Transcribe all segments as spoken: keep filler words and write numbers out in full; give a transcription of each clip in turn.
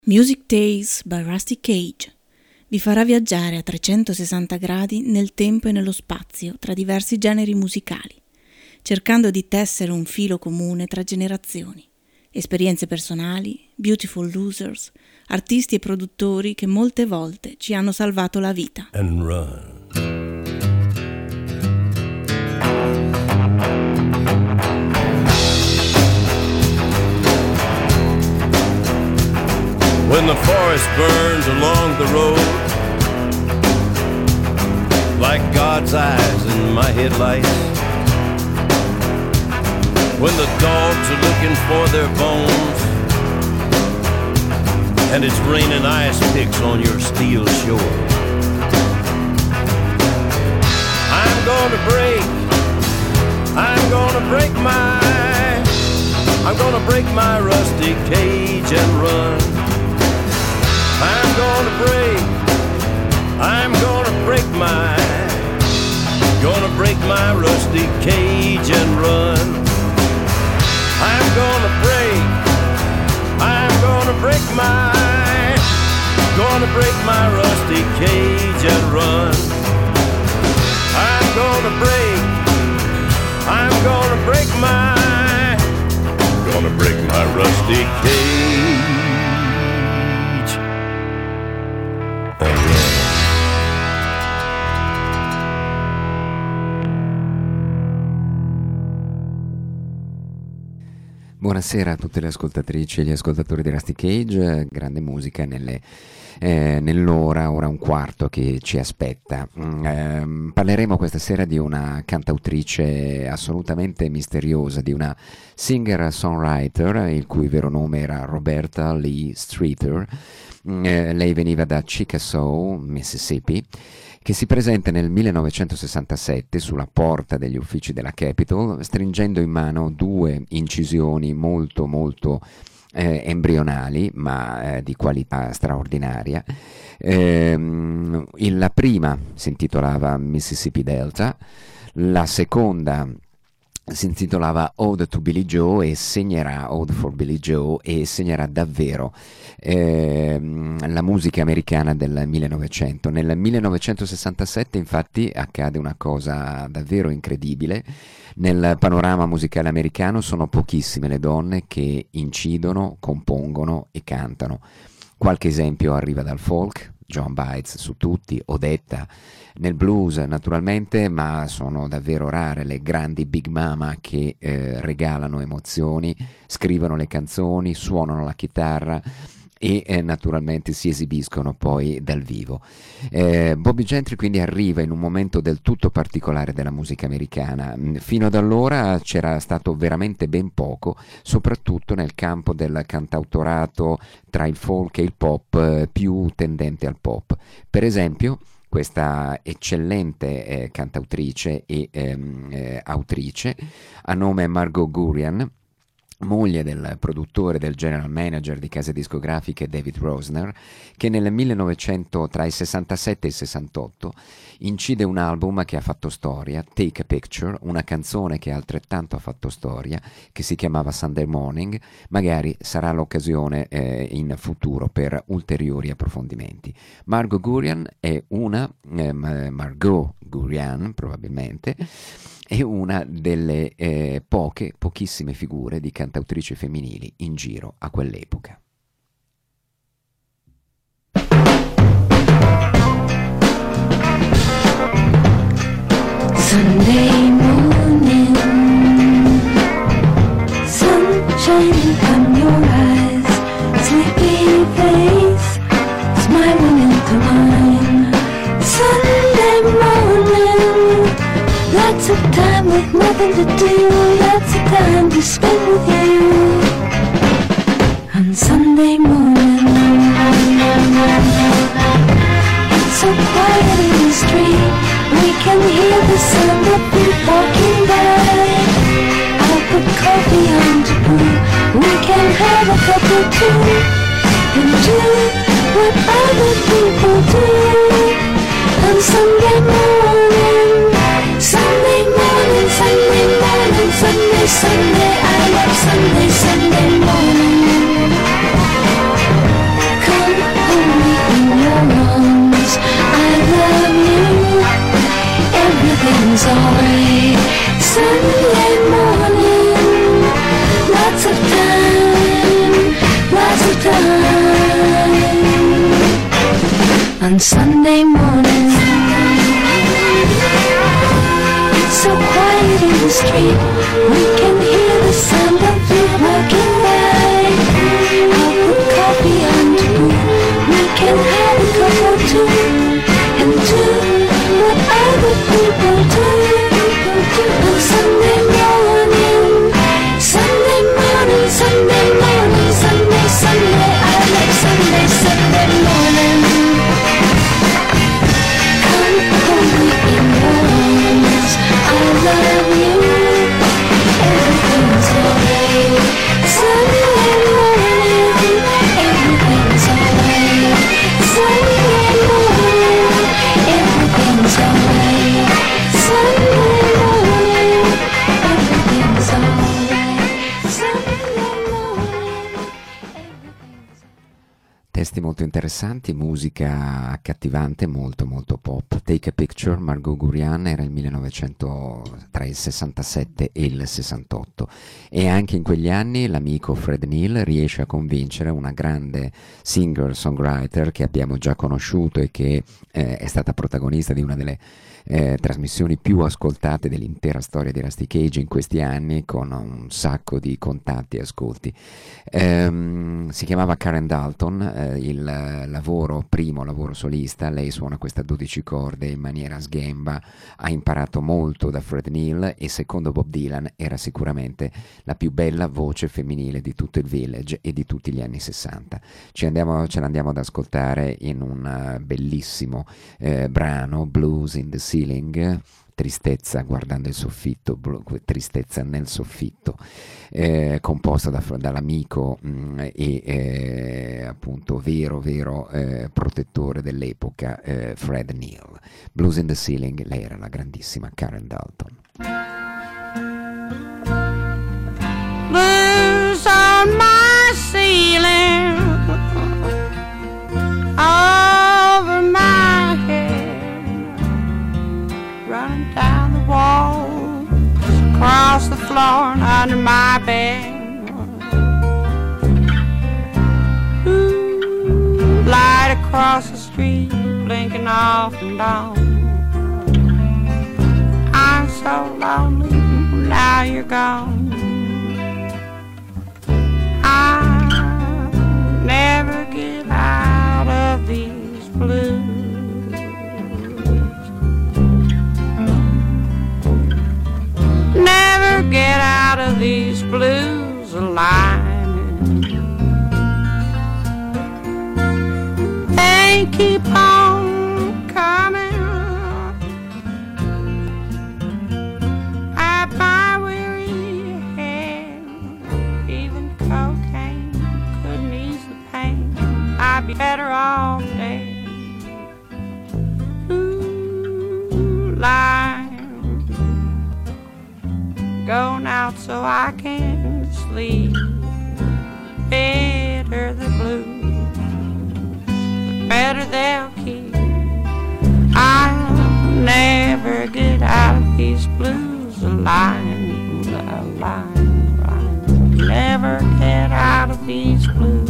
Music Days by Rusty Cage vi farà viaggiare a trecentosessanta gradi nel tempo e nello spazio tra diversi generi musicali, cercando di tessere un filo comune tra generazioni, esperienze personali, beautiful losers, artisti e produttori che molte volte ci hanno salvato la vita. And run. When the forest burns along the road, like God's eyes in my headlights, when the dogs are looking for their bones, and it's raining ice picks on your steel shore, I'm gonna break, I'm gonna break my, I'm gonna break my rusty cage and run. I'm gonna break, I'm gonna break my, gonna break my rusty cage and run. I'm gonna break, I'm gonna break my, gonna break my rusty cage and run. I'm gonna break, I'm gonna break my, gonna break my rusty cage. Buonasera a tutte le ascoltatrici e gli ascoltatori di Rusty Cage, grande musica nelle, eh, nell'ora, ora un quarto che ci aspetta. Eh, parleremo questa sera di una cantautrice assolutamente misteriosa, di una singer-songwriter, il cui vero nome era Roberta Lee Streeter. Eh, lei veniva da Chickasaw, Mississippi, che si presenta nel millenovecentosessantasette sulla porta degli uffici della Capitol, stringendo in mano due incisioni molto molto eh, embrionali, ma eh, di qualità straordinaria. Eh, la prima si intitolava Mississippi Delta, la seconda si intitolava Ode to Billie Joe e segnerà Ode for Billie Joe e segnerà davvero eh, la musica americana del millenovecento. Nel millenovecentosessantasette infatti accade una cosa davvero incredibile. Nel panorama musicale americano sono pochissime le donne che incidono, compongono e cantano. Qualche esempio arriva dal folk, Joan Baez su tutti, Odetta nel blues naturalmente, ma sono davvero rare le grandi big mama che eh, regalano emozioni, scrivono le canzoni, suonano la chitarra e eh, naturalmente si esibiscono poi dal vivo. Eh, Bobbie Gentry quindi arriva in un momento del tutto particolare della musica americana. Fino ad allora c'era stato veramente ben poco, soprattutto nel campo del cantautorato tra il folk e il pop, eh, più tendente al pop. Per esempio, questa eccellente eh, cantautrice e ehm, eh, autrice a nome Margot Gurian, moglie del produttore, del general manager di case discografiche David Rosner, che nel millenovecento, tra il sessantasette e il sessantotto, incide un album che ha fatto storia, Take a Picture, una canzone che altrettanto ha fatto storia, che si chiamava Sunday Morning. Magari sarà l'occasione eh, in futuro per ulteriori approfondimenti. Margot Gurian è una, eh, Margot Gurian probabilmente, è una delle eh, poche, pochissime figure di cantautrici femminili in giro a quell'epoca. Sunday morning, sun shining from your eyes, sleepy face, smiling into mine. Sunday morning, lots of time with nothing to do, lots of time to spend with you. On Sunday morning, it's so quiet in the street, we can hear the sound of feet walking by. I'll put coffee on to brew, we can have a cup or two, and do what other people do. On Sunday morning, Sunday morning, Sunday morning, Sunday, Sunday, I love Sunday, Sunday morning. on Sunday morning. It's so quiet in the street, we can hear the sound of feet walking by. I'll put coffee on to brew, we can have a cup or two, and do what other people do. On Sunday morning, Sunday morning, Sunday morning, Sunday, Sunday, I love Sunday, Sunday morning. Come hold me in your arms, I love you, everything's alright. Sunday morning, everything's alright. Sunday morning, everything's alright. Sunday morning, everything's alright. Sunday morning, everything's alright. Testi molto interessanti, musica accattivante, molto molto pop. Take a Picture, Margot Gurian, era il millenovecento, tra il sessantasette e il sessantotto, e anche in quegli anni l'amico Fred Neil riesce a convincere una grande singer-songwriter che abbiamo già conosciuto e che eh, è stata protagonista di una delle Eh, trasmissioni più ascoltate dell'intera storia di Rusty Cage in questi anni, con un sacco di contatti e ascolti. Ehm, si chiamava Karen Dalton, eh, il lavoro, primo lavoro solista. Lei suona questa dodici corde in maniera sghemba, ha imparato molto da Fred Neil e secondo Bob Dylan era sicuramente la più bella voce femminile di tutto il Village e di tutti gli anni sessanta. Ci andiamo, ce l'andiamo ad ascoltare in un uh, bellissimo eh, brano, Blues in the Ceiling, tristezza guardando il soffitto, tristezza nel soffitto, eh, composta da, dall'amico mh, e eh, appunto vero vero eh, protettore dell'epoca, eh, Fred Neil. Blues in the Ceiling, lei era la grandissima Karen Dalton. Blues on my ceiling, over my head, running down the walls, across the floor and under my bed. Ooh, light across the street, blinking off and on. I'm so lonely, now you're gone. I never get out of these blues. Never get out of these blues alive. They keep on coming at my weary head. Even cocaine couldn't ease the pain. I'd be better off dead. Ooh, lying, going out so I can sleep. Better the blues, the better they'll keep. I'll never get out of these blues alive, alive, alive. Never get out of these blues.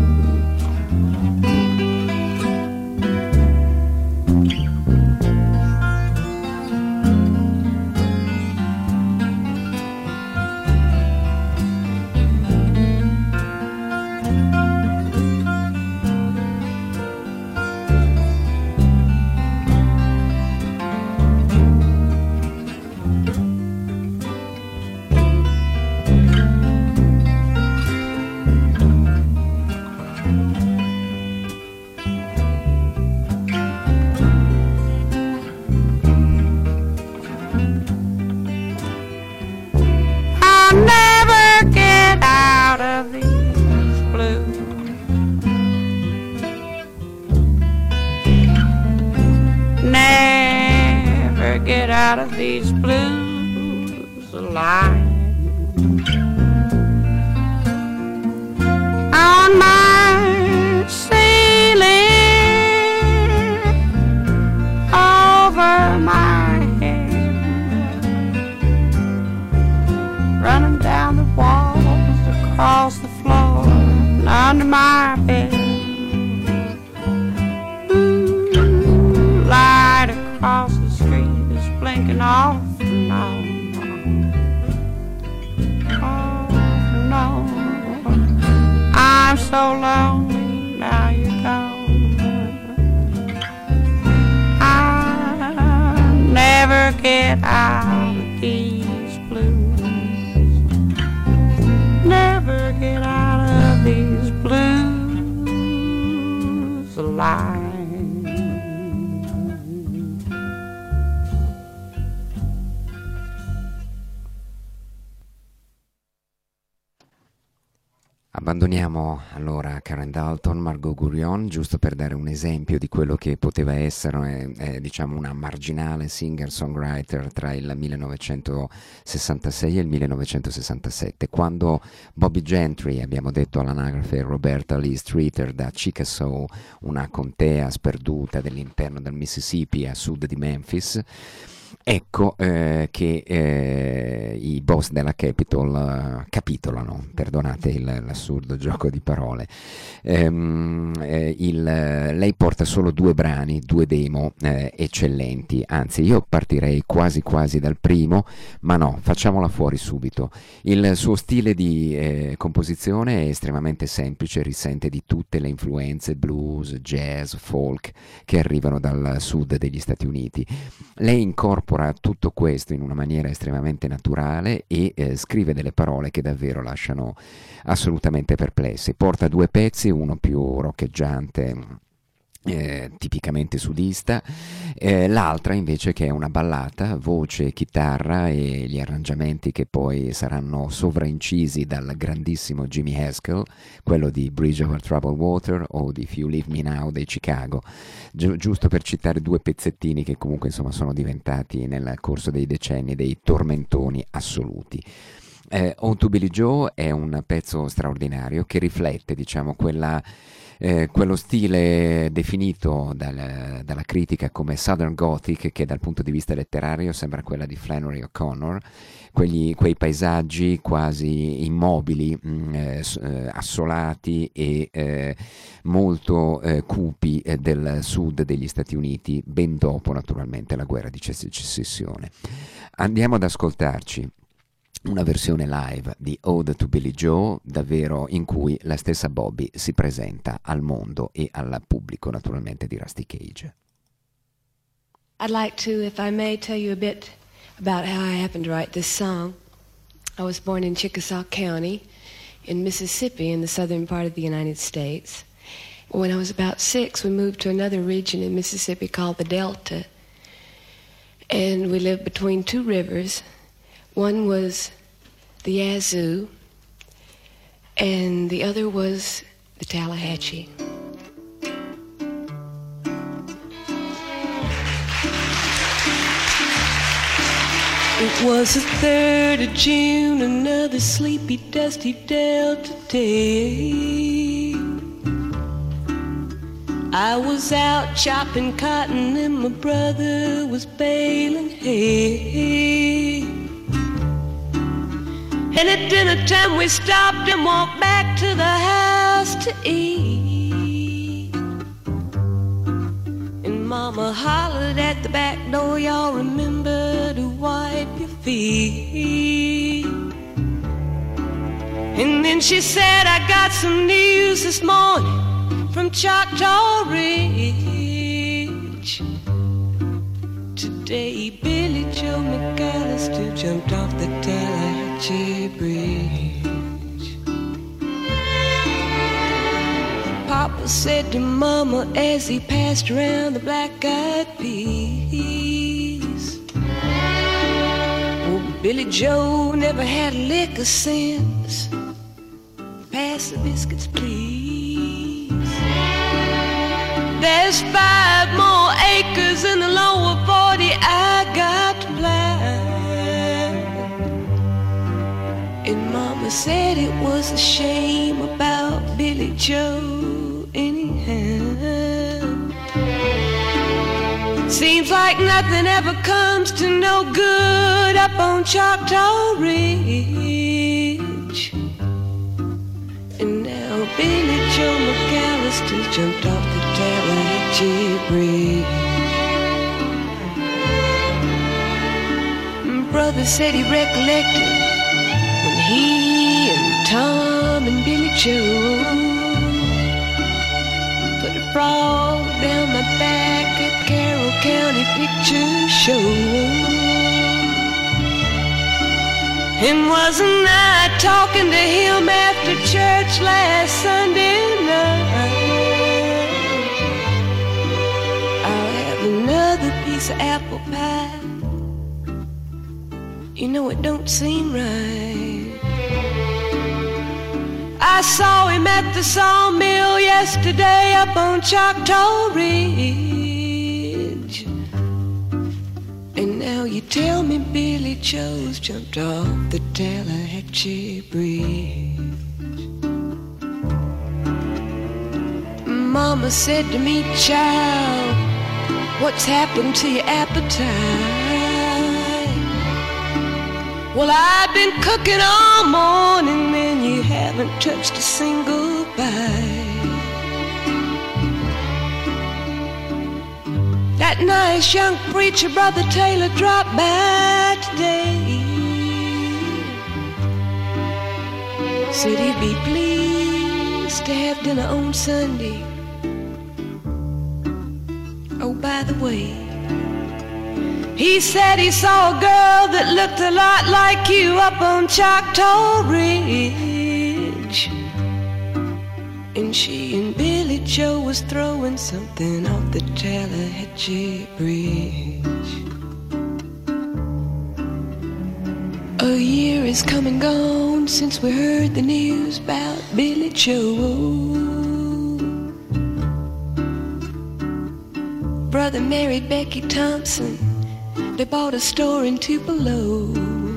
Out of these blues alive. On my ceiling, over my head, running down the walls, across the floor, and under my bed. Ooh, so lonely, now you're gone. I never get out of these blues. Never get out of these blues alive. Abbandoniamo allora Karen Dalton, Margot Gurrion, giusto per dare un esempio di quello che poteva essere eh, diciamo una marginale singer-songwriter tra il millenovecentosessantasei e il millenovecentosessantasette, quando Bobby Gentry, abbiamo detto all'anagrafe Roberta Lee Streeter, da Chickasaw, una contea sperduta dell'interno del Mississippi a sud di Memphis. Ecco eh, che eh, i boss della Capitol uh, capitolano, perdonate il, l'assurdo gioco di parole. Ehm, eh, il, lei porta solo due brani, due demo eh, eccellenti, anzi io partirei quasi quasi dal primo, ma no, facciamola fuori subito. Il suo stile di eh, composizione è estremamente semplice, risente di tutte le influenze blues, jazz, folk che arrivano dal sud degli Stati Uniti. Lei incorpora tutto questo in una maniera estremamente naturale e eh, scrive delle parole che davvero lasciano assolutamente perplessi. Porta due pezzi, uno più roccheggiante, Eh, tipicamente sudista, eh, l'altra invece che è una ballata, voce, chitarra e gli arrangiamenti che poi saranno sovraincisi dal grandissimo Jimmy Haskell, quello di Bridge Over Troubled Water o di If You Leave Me Now dei Chicago, Gi- giusto per citare due pezzettini che comunque insomma sono diventati nel corso dei decenni dei tormentoni assoluti. Eh, Ode to Billie Joe è un pezzo straordinario che riflette, diciamo, quella Eh, quello stile definito dal, dalla critica come Southern Gothic, che dal punto di vista letterario sembra quella di Flannery O'Connor, quegli, quei paesaggi quasi immobili, mh, eh, assolati e eh, molto eh, cupi eh, del sud degli Stati Uniti, ben dopo naturalmente la guerra di secessione. Andiamo ad ascoltarci una versione live di Ode to Billie Joe, davvero in cui la stessa Bobby si presenta al mondo e al pubblico naturalmente di Rusty Cage. I'd like to, if I may, tell you a bit about how I happened to write this song. I was born in Chickasaw County in Mississippi in the southern part of the United States. When I was about six, we moved to another region in Mississippi called the Delta, and we lived between two rivers. One was the Yazoo, and the other was the Tallahatchie. It was the third of June, another sleepy, dusty Delta day. I was out chopping cotton and my brother was baling hay. And at dinner time we stopped and walked back to the house to eat. And Mama hollered at the back door, y'all remember to wipe your feet. And then she said, I got some news this morning from Choctaw Ridge. Today Billie Joe McAllister jumped off the Tallahatchie Bridge. Papa said to Mama as he passed around the black-eyed peas, oh, Billie Joe never had a lick of sense. Pass the biscuits, please. There's five more acres in the lower forty I got to plant. And Mama said it was a shame about Billie Joe anyhow. Seems like nothing ever comes to no good up on Choctaw Ridge. And now Billie Joe McAllister jumped off the Tallahatchie Bridge. Brother said he recollected when he and Tom and Billie Joe sprawl down my back at Carroll County Picture Show. And wasn't I talking to him after church last Sunday night? I'll have another piece of apple pie. You know it don't seem right. I saw him at the sawmill yesterday up on Choctaw Ridge. And now you tell me Billy Joe's jumped off the Tallahatchie Bridge. Mama said to me, child, what's happened to your appetite? Well, I've been cooking all morning and you haven't touched a single bite. That nice young preacher, Brother Taylor, dropped by today. Said he'd be pleased to have dinner on Sunday. Oh, by the way, he said he saw a girl that looked a lot like you up on Choctaw Ridge. And she and Billy Joe was throwing something off the Tallahatchie Bridge. A year is come and gone since we heard the news about Billy Joe. Brother married Becky Thompson. They bought a store in Tupelo.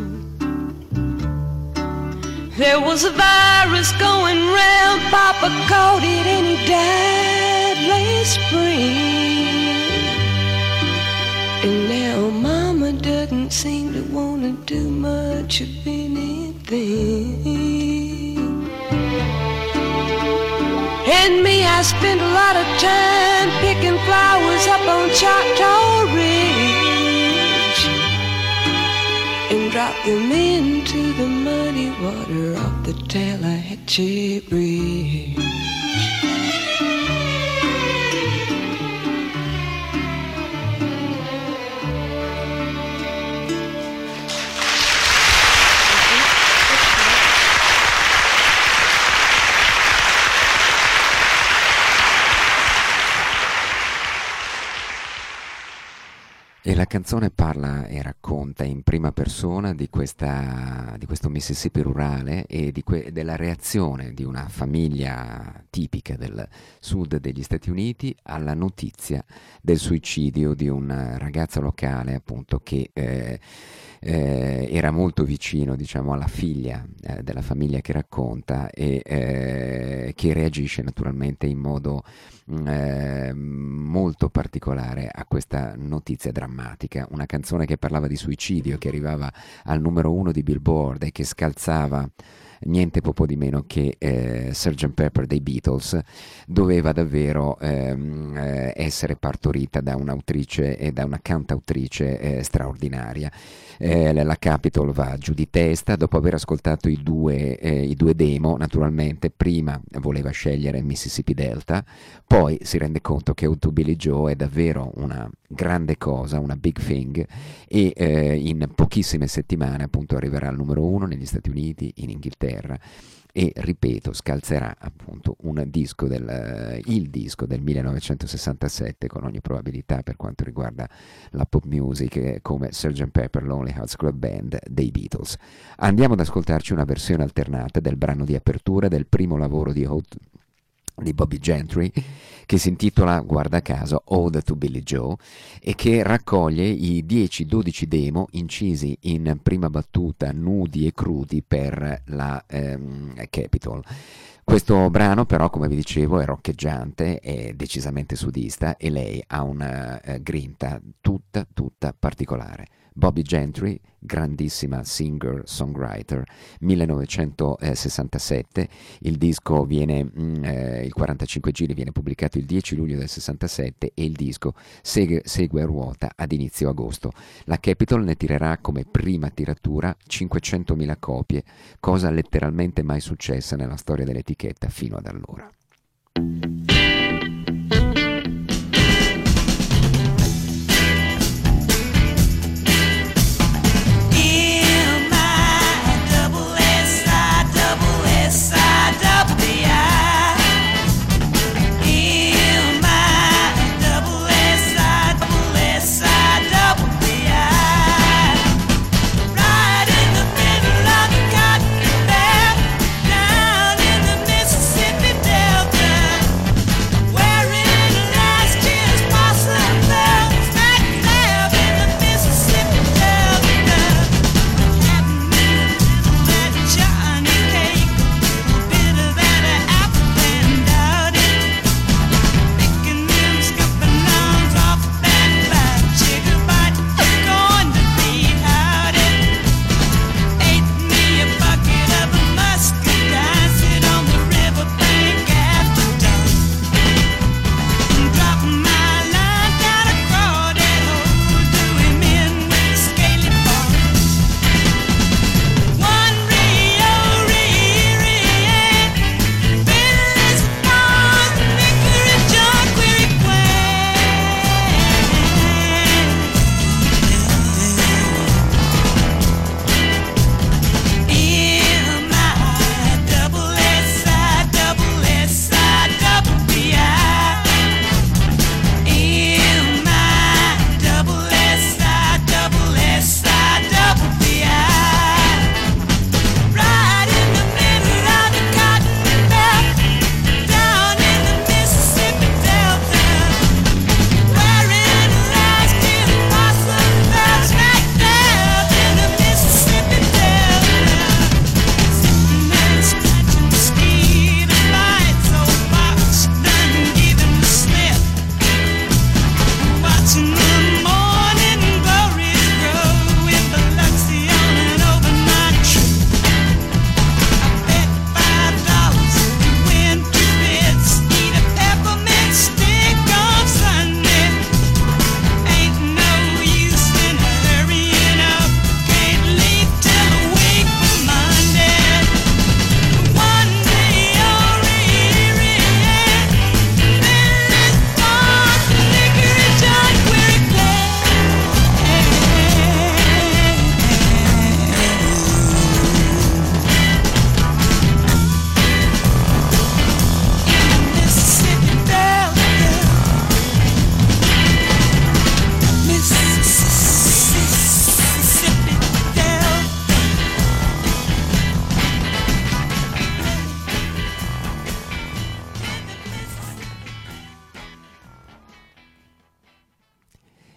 There was a virus going round, Papa caught it and he died last spring. And now Mama doesn't seem to want to do much of anything. And me, I spend a lot of time picking flowers up on Choctaw Ridge and drop them into the muddy water off the Tallahatchie Bridge. E la canzone parla e racconta in prima persona di, questa, di questo Mississippi rurale e di que, della reazione di una famiglia tipica del sud degli Stati Uniti alla notizia del suicidio di un ragazzo locale, appunto, che eh, eh, era molto vicino, diciamo, alla figlia eh, della famiglia che racconta e eh, che reagisce naturalmente in modo Eh, molto particolare a questa notizia drammatica. Una canzone che parlava di suicidio, che arrivava al numero uno di Billboard e che scalzava niente poco di meno che eh, sergeant Pepper dei Beatles, doveva davvero ehm, eh, essere partorita da un'autrice e da una cantautrice eh, straordinaria. Eh, la Capitol va giù di testa dopo aver ascoltato i due, eh, i due demo. Naturalmente prima voleva scegliere Mississippi Delta, poi si rende conto che To Billy Joe è davvero una grande cosa, una big thing, e eh, in pochissime settimane appunto arriverà al numero uno negli Stati Uniti, in Inghilterra, e ripeto, scalzerà appunto un disco del, il disco del millenovecentosessantasette con ogni probabilità per quanto riguarda la pop music, come sergeant Pepper Lonely Hearts Club Band dei Beatles. Andiamo ad ascoltarci una versione alternata del brano di apertura del primo lavoro di Ode di Bobby Gentry, che si intitola, guarda caso, Ode to Billy Joe, e che raccoglie i dieci dodici demo incisi in prima battuta nudi e crudi per la ehm, Capitol. Questo brano però, come vi dicevo, è roccheggiante, è decisamente sudista e lei ha una eh, grinta tutta tutta particolare. Bobby Gentry, grandissima singer-songwriter, millenovecentosessantasette, il disco viene, mh, eh, il quarantacinque giri viene pubblicato il dieci luglio del sessantasette e il disco segue, segue a ruota ad inizio agosto. La Capitol ne tirerà come prima tiratura cinquecentomila copie, cosa letteralmente mai successa nella storia dell'etichetta fino ad allora.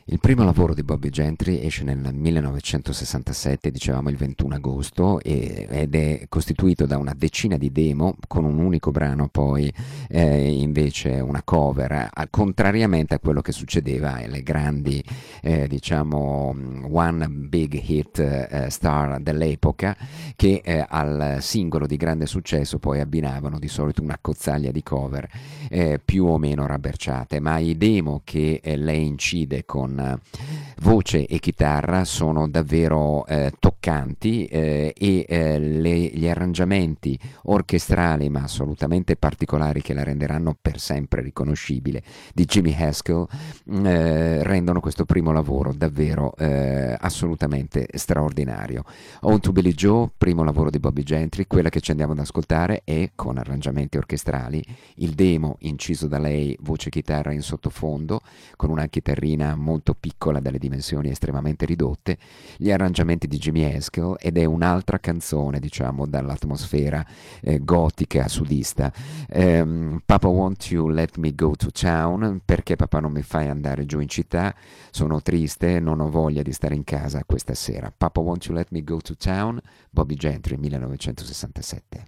Il primo lavoro di Bobby Gentry esce nel millenovecentosessantasette, dicevamo il ventuno agosto, e, ed è costituito da una decina di demo con un unico brano, poi eh, invece una cover, al, contrariamente a quello che succedeva alle grandi, eh, diciamo, one big hit eh, star dell'epoca, che eh, al singolo di grande successo poi abbinavano di solito una cozzaglia di cover eh, più o meno rabberciate, ma i demo che eh, lei incide con voce e chitarra sono davvero eh, toccanti eh, e eh, le, gli arrangiamenti orchestrali ma assolutamente particolari che la renderanno per sempre riconoscibile di Jimmy Haskell eh, rendono questo primo lavoro davvero eh, assolutamente straordinario. Ode to Billie Joe, primo lavoro di Bobby Gentry, quella che ci andiamo ad ascoltare è con arrangiamenti orchestrali, il demo inciso da lei, voce e chitarra in sottofondo con una chitarrina molto piccola, dalle dimensioni estremamente ridotte, gli arrangiamenti di Jimmy Haskell, ed è un'altra canzone, diciamo, dall'atmosfera eh, gotica sudista. Um, Papa Won't You Let Me Go to Town, perché papà non mi fai andare giù in città, sono triste, non ho voglia di stare in casa questa sera. Papa Won't You Let Me Go to Town, Bobby Gentry, millenovecentosessantasette.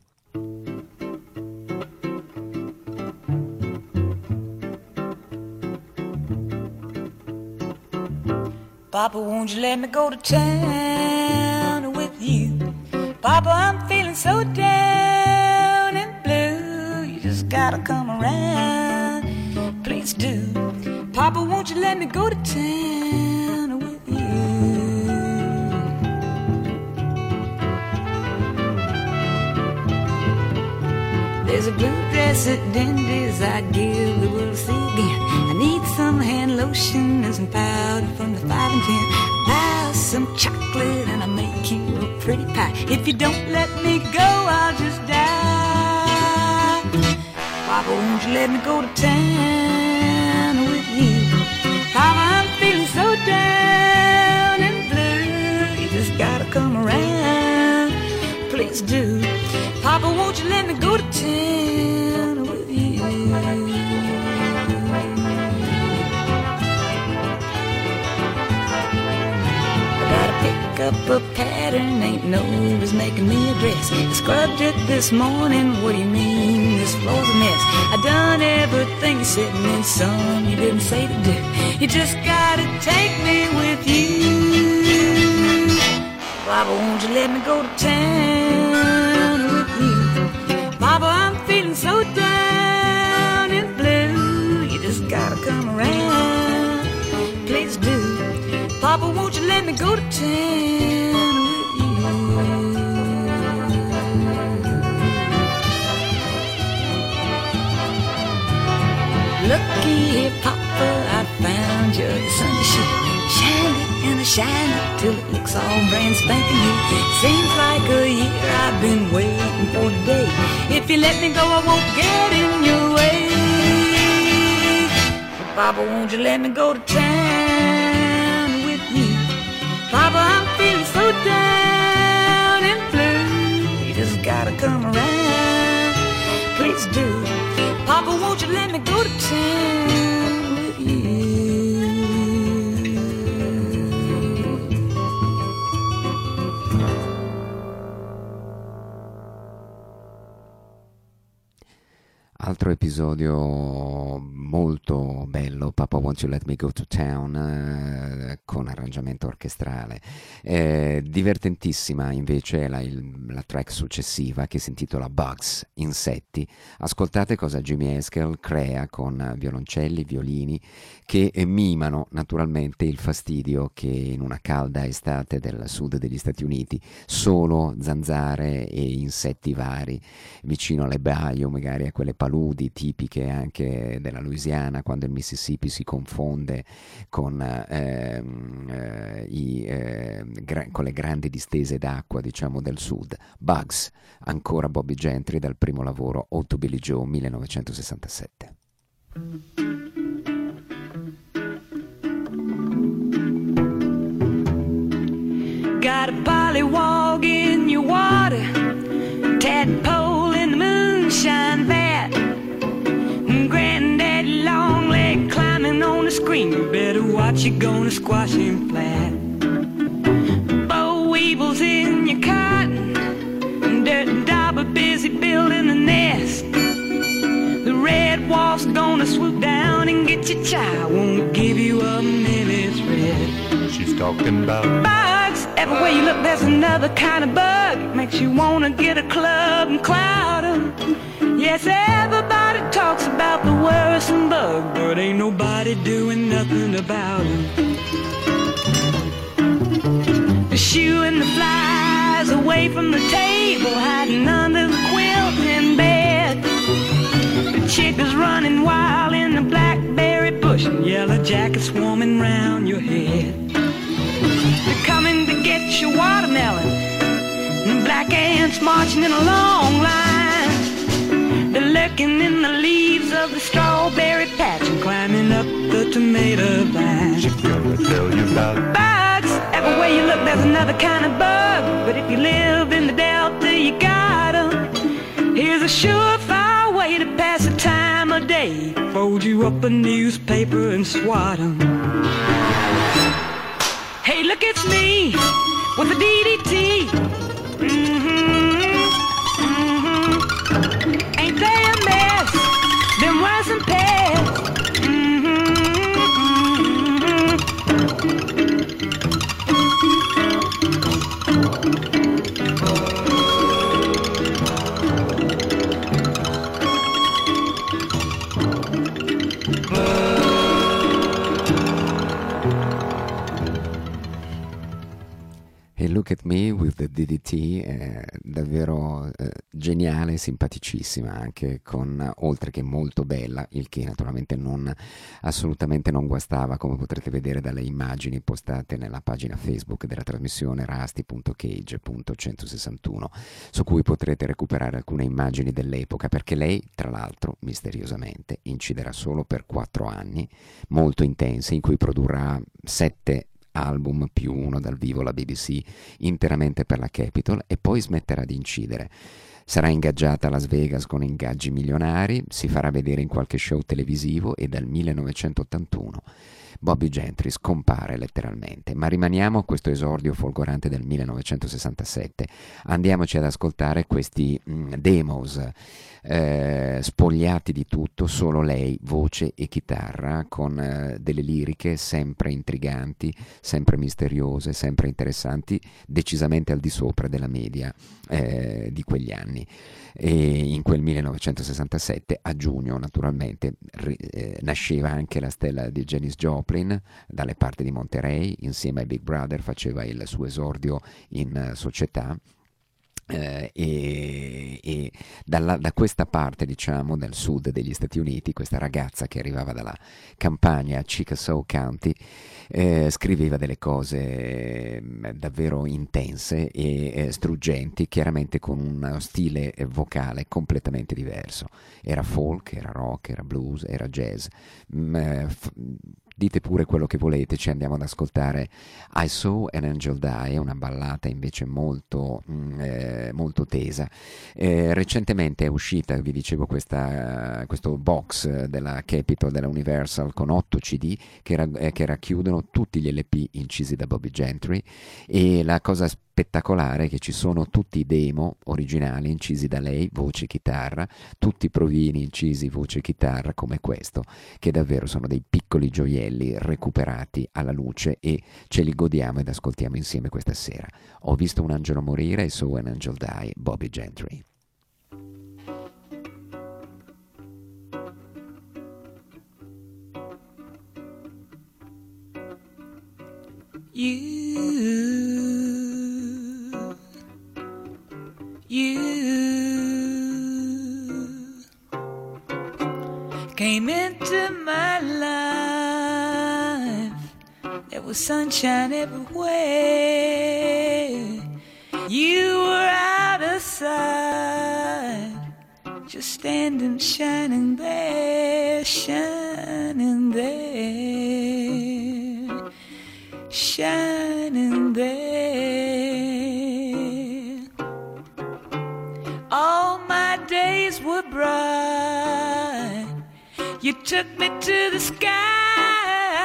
Papa, won't you let me go to town with you? Papa, I'm feeling so down and blue. You just gotta come around, please do. Papa, won't you let me go to town with you? There's a blue dress at Dendy's I'd give the world to see again. I need some hand lotion and some powder from the five and ten. Buy some chocolate and I'll make you a pretty pie. If you don't let me go, I'll just die. Papa, won't you let me go to town with you? Papa, I'm feeling so down and blue. You just gotta come around, please do. Papa, won't you let me go to town with you? I gotta pick up a pattern, ain't no use making me a dress. I scrubbed it this morning, what do you mean, this floor's a mess? I done everything you said and then some you didn't say to do. You just gotta take me with you. Papa, won't you let me go to town with you? Papa, I'm feeling so down and blue. You just gotta come around, please do. Papa, won't you let me go to town with you? Looky here, Papa, I found you the Sunday shoe. Shine it and I shine it till it looks all brand spanking new. Seems like a year I've been waiting for today. If you let me go, I won't get in your way. Papa, won't you let me go to town with you? Papa, I'm feeling so down and blue. You just gotta come around, please do. Papa, won't you let me go to town with you? Altro episodio molto bello, Papa Won't You Let Me Go to Town, eh, con arrangiamento orchestrale. Eh, divertentissima invece la, il, la track successiva che si intitola Bugs, Insetti. Ascoltate cosa Jimmy Haskell crea con violoncelli, violini che mimano naturalmente il fastidio che in una calda estate del sud degli Stati Uniti solo zanzare e insetti vari vicino alle baie o magari a quelle paludi tipiche anche della Louisiana, quando il Mississippi si confonde con, eh, eh, i, eh, gra- con le grandi distese d'acqua, diciamo, del sud. Bugs, ancora Bobby Gentry dal primo lavoro Ode to Billie Joe millenovecentosessantasette. Got a pollywog in your water, tadpole in the moonshine vat, granddaddy long leg climbing on the scream. You better watch, you're gonna squash him flat. Boll weevils in your cotton, dirt and dauber busy building a nest. The red wolf's gonna swoop down and get your child, won't give you a minute's rest. She's talking about bugs. Everywhere you look there's another kind of bug. It makes you wanna get a club and cloud 'em. Yes, everybody talks about the worrisome bug, but ain't nobody doing nothing about it. The shoe and the flies away from the table, hiding under the quilt in bed. The chick is running wild in the blackberry bush, and yellow jackets swarming round your head. They're coming to get your watermelon, and black ants marching in a long line. They're lurking in the leaves of the strawberry patch and climbing up the tomato vine. She's gonna tell you about bugs. Everywhere you look there's another kind of bug, but if you live in the Delta you got 'em. Here's a surefire way to pass the time of day. Fold you up a newspaper and swat 'em. Hey, look, it's me with the D D T. Mm-hmm, mm-hmm. Ain't they a mess? Them worse than pests. Mm-hmm, E Look at Me with the D D T è davvero eh, geniale, simpaticissima anche, con, oltre che molto bella, il che naturalmente non assolutamente non guastava, come potrete vedere dalle immagini postate nella pagina Facebook della trasmissione rusty punto cage punto centosessantuno, su cui potrete recuperare alcune immagini dell'epoca, perché lei tra l'altro misteriosamente inciderà solo per quattro anni molto intensi, in cui produrrà sette album più uno dal vivo alla B B C interamente per la Capitol, e poi smetterà di incidere. Sarà ingaggiata a Las Vegas con ingaggi milionari, si farà vedere in qualche show televisivo e dal millenovecentottantuno Bobbie Gentry scompare letteralmente. Ma rimaniamo a questo esordio folgorante del millenovecentosessantasette. Andiamoci ad ascoltare questi mh, demos eh, spogliati di tutto, solo lei, voce e chitarra, con eh, delle liriche sempre intriganti, sempre misteriose, sempre interessanti, decisamente al di sopra della media eh, di quegli anni. E in quel millenovecentosessantasette, a giugno naturalmente, ri, eh, nasceva anche la stella di Janis Joplin dalle parti di Monterey. Insieme ai Big Brother faceva il suo esordio in uh, società. Eh, e, e dalla, da questa parte, diciamo, del sud degli Stati Uniti, questa ragazza che arrivava dalla campagna Chickasaw County eh, scriveva delle cose eh, davvero intense e eh, struggenti, chiaramente con uno stile vocale completamente diverso. Era folk, era rock, era blues, era jazz. Mm, eh, f- Dite pure quello che volete, ci andiamo ad ascoltare I Saw an Angel Die, una ballata invece molto, mm, eh, molto tesa. Eh, recentemente è uscita, vi dicevo, questa, questo box della Capitol, della Universal, con otto C D che, ra- eh, che racchiudono tutti gli L P incisi da Bobbie Gentry, e la cosa spettacolare è che ci sono tutti i demo originali incisi da lei, voce e chitarra, tutti i provini incisi voce e chitarra come questo, che davvero sono dei piccoli gioielli recuperati alla luce, e ce li godiamo ed ascoltiamo insieme questa sera. Ho visto un angelo morire, I Saw an Angel Die, Bobbie Gentry. You, you came into my life. There was sunshine everywhere. You were out of sight, just standing, shining there, shining there, shining there. All my days were bright. You took me to the sky.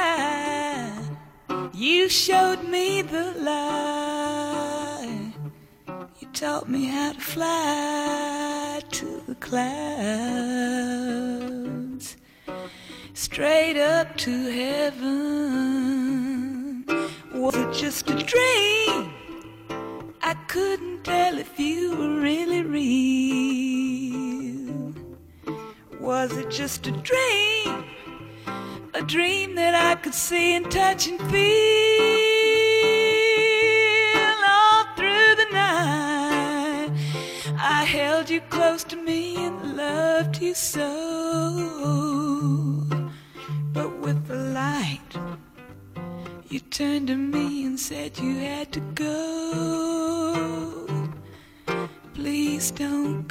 You showed me the light. You taught me how to fly to the clouds, straight up to heaven. Was it just a dream? I couldn't tell if you were really real. Was it just a dream? A dream that I could see and touch and feel all through the night. I held you close to me and loved you so. But with the light, you turned to me and said you had to go. Please don't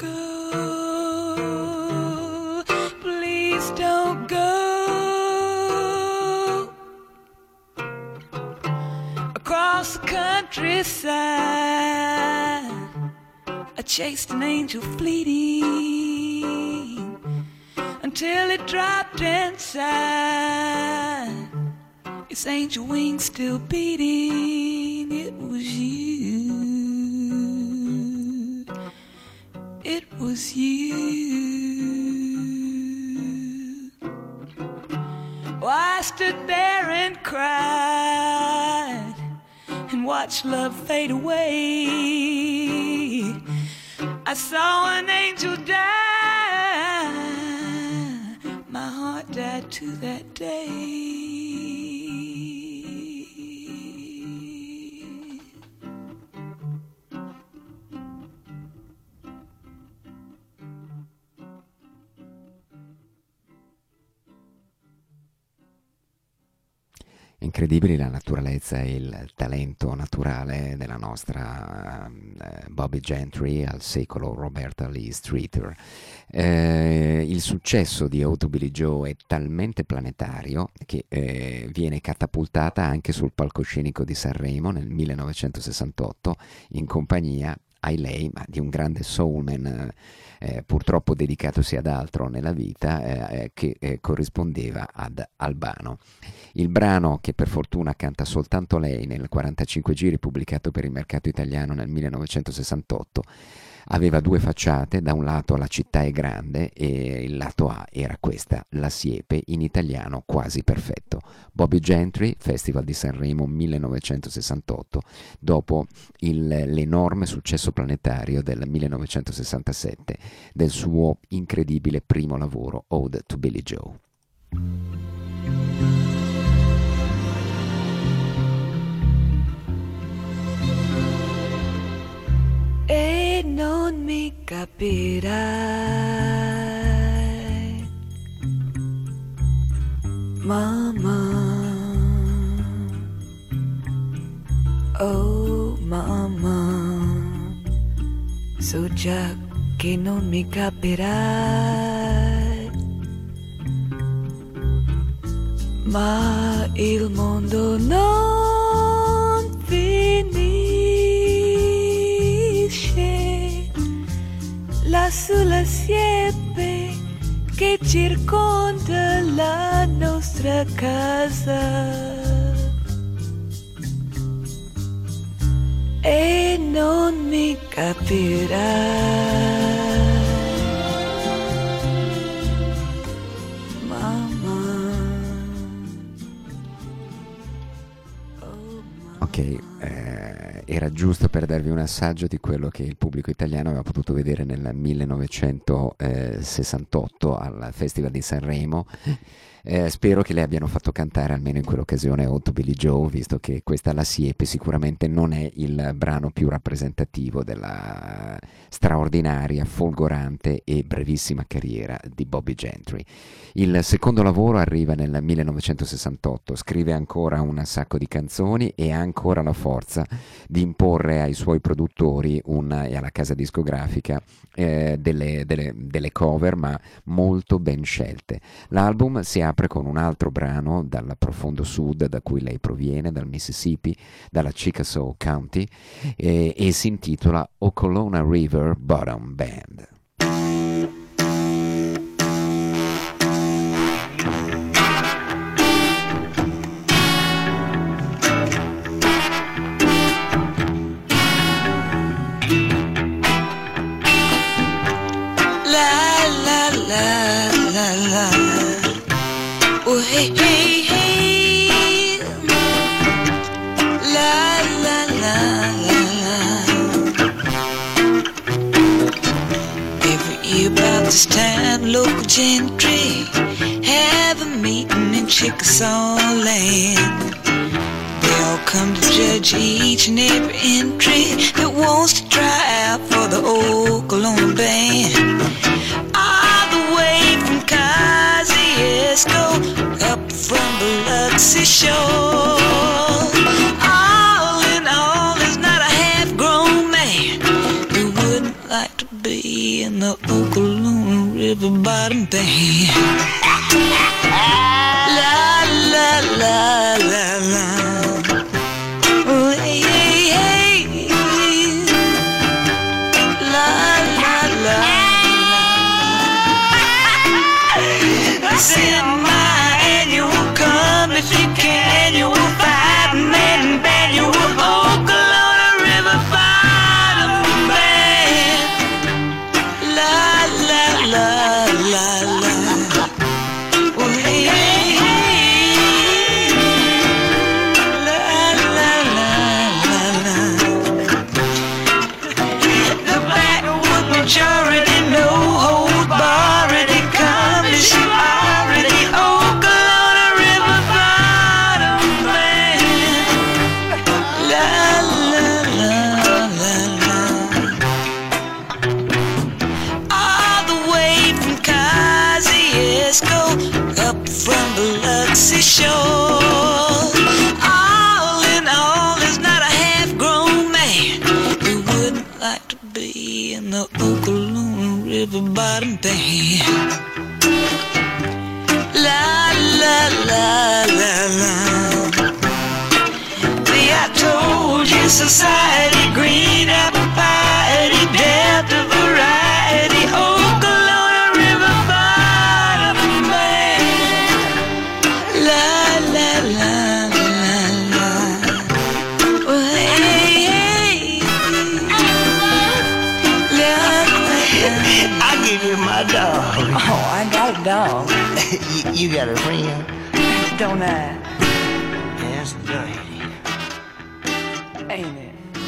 go. Please don't go. Across the countryside, I chased an angel fleeting until it dropped inside. Its angel wings still beating. It was you. It was you. Oh, I stood there and cried and watched love fade away. I saw an angel die. My heart died too that day. Incredibili la naturalezza e il talento naturale della nostra uh, Bobbie Gentry, al secolo Roberta Lee Streeter. Eh, il successo di Oh to Billie Joe è talmente planetario che eh, viene catapultata anche sul palcoscenico di Sanremo nel millenovecentosessantotto in compagnia, ai lei, ma di un grande soulman eh, purtroppo dedicatosi ad altro nella vita, eh, che eh, corrispondeva ad Albano. Il brano, che per fortuna canta soltanto lei nel quarantacinque giri pubblicato per il mercato italiano nel millenovecentosessantotto, aveva due facciate: da un lato La città è grande e il lato A era questa, La siepe, in italiano quasi perfetto. Bobbie Gentry, Festival di Sanremo millenovecentosessantotto, dopo il, l'enorme successo planetario del millenovecentosessantasette del suo incredibile primo lavoro, Ode to Billie Joe. E non mi capirai, mamma, oh mamma, so già che non mi capirai, ma il mondo non finisce là sulla siepe che circonda la nostra casa. E non mi capirai, mamma. Oh, mamma. Ok, eh, era giusto per darvi un assaggio di quello che il pubblico italiano aveva potuto vedere nel millenovecentosessantotto al Festival di Sanremo. Eh, spero che le abbiano fatto cantare almeno in quell'occasione Ode to Billie Joe, visto che questa La siepe sicuramente non è il brano più rappresentativo della straordinaria, folgorante e brevissima carriera di Bobbie Gentry. Il secondo lavoro arriva nel millenovecentosessantotto, scrive ancora un sacco di canzoni e ha ancora la forza di imporre ai suoi produttori un, e alla casa discografica eh, delle, delle, delle cover, ma molto ben scelte. L'album si apre con un altro brano dal profondo sud da cui lei proviene, dal Mississippi, dalla Chickasaw County, e, e si intitola Okolona River Bottom Band. Hey, hey, hey. La, la, la, la, la. Every year about this time, local gentry have a meeting in Chickasaw Land. They all come to judge each and every entry that wants to try out for the Okolona Band. All the way from Kosciuszko up from Biloxi shore. All in all, there's not a half-grown man who wouldn't like to be in the Okolona River Bottom Band. La la la la la. Oh, hey, hey, hey. La la la la. Send my annual, come if you can. You will find men band. You will Okolona River Bottom Band. La la la la la. Oh, hey, hey, hey. La la la la la. The backwood majority, no hold bar, already come to shoot already. Okolona River Bottom Band. La la la la la. All the way from Kosciuszko up from Biloxi shore. All in all, there's not a half-grown man who wouldn't like to be in the Okolona River Bottom Band. La la la la la. See, I told you, society, green apple pie, Delta variety, Okolona River Bottom Band. La la la la la. Oh, hey, hey. La, la, la. I give you my dog. Oh, I got a dog. you, you got a friend? Don't I? That's dirty. Ain't it?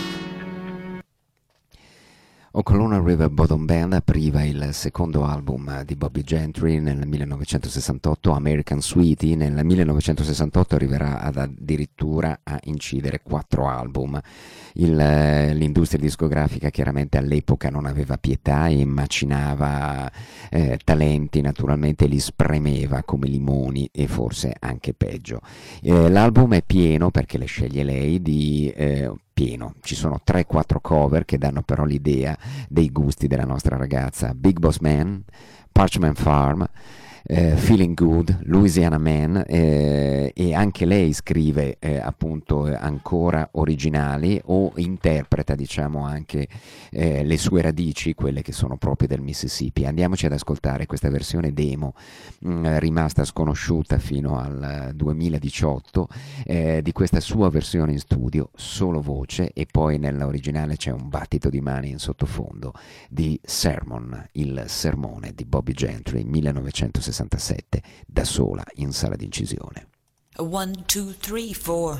Okolona River Bottom Band apriva il secondo album di Bobby Gentry nel millenovecentosessantotto, American Sweetie. Nel millenovecentosessantotto arriverà ad addirittura a incidere quattro album. Il, l'industria discografica chiaramente all'epoca non aveva pietà e macinava eh, talenti, naturalmente li spremeva come limoni e forse anche peggio. Eh, l'album è pieno, perché le sceglie lei, di... Eh, pieno. Ci sono tre quattro cover che danno però l'idea dei gusti della nostra ragazza. Big Boss Man, Parchment Farm, eh, Feeling Good, Louisiana Man, eh, e anche lei scrive eh, appunto ancora originali o interpreta, diciamo, anche eh, le sue radici, quelle che sono proprio del Mississippi. Andiamoci ad ascoltare questa versione demo mh, rimasta sconosciuta fino al duemiladiciotto eh, di questa sua versione in studio, solo voce, e poi nell'originale c'è un battito di mani in sottofondo di Sermon, il sermone di Bobby Gentry, millenovecentosessantasette, da sola in sala d'incisione. One, two, three, four.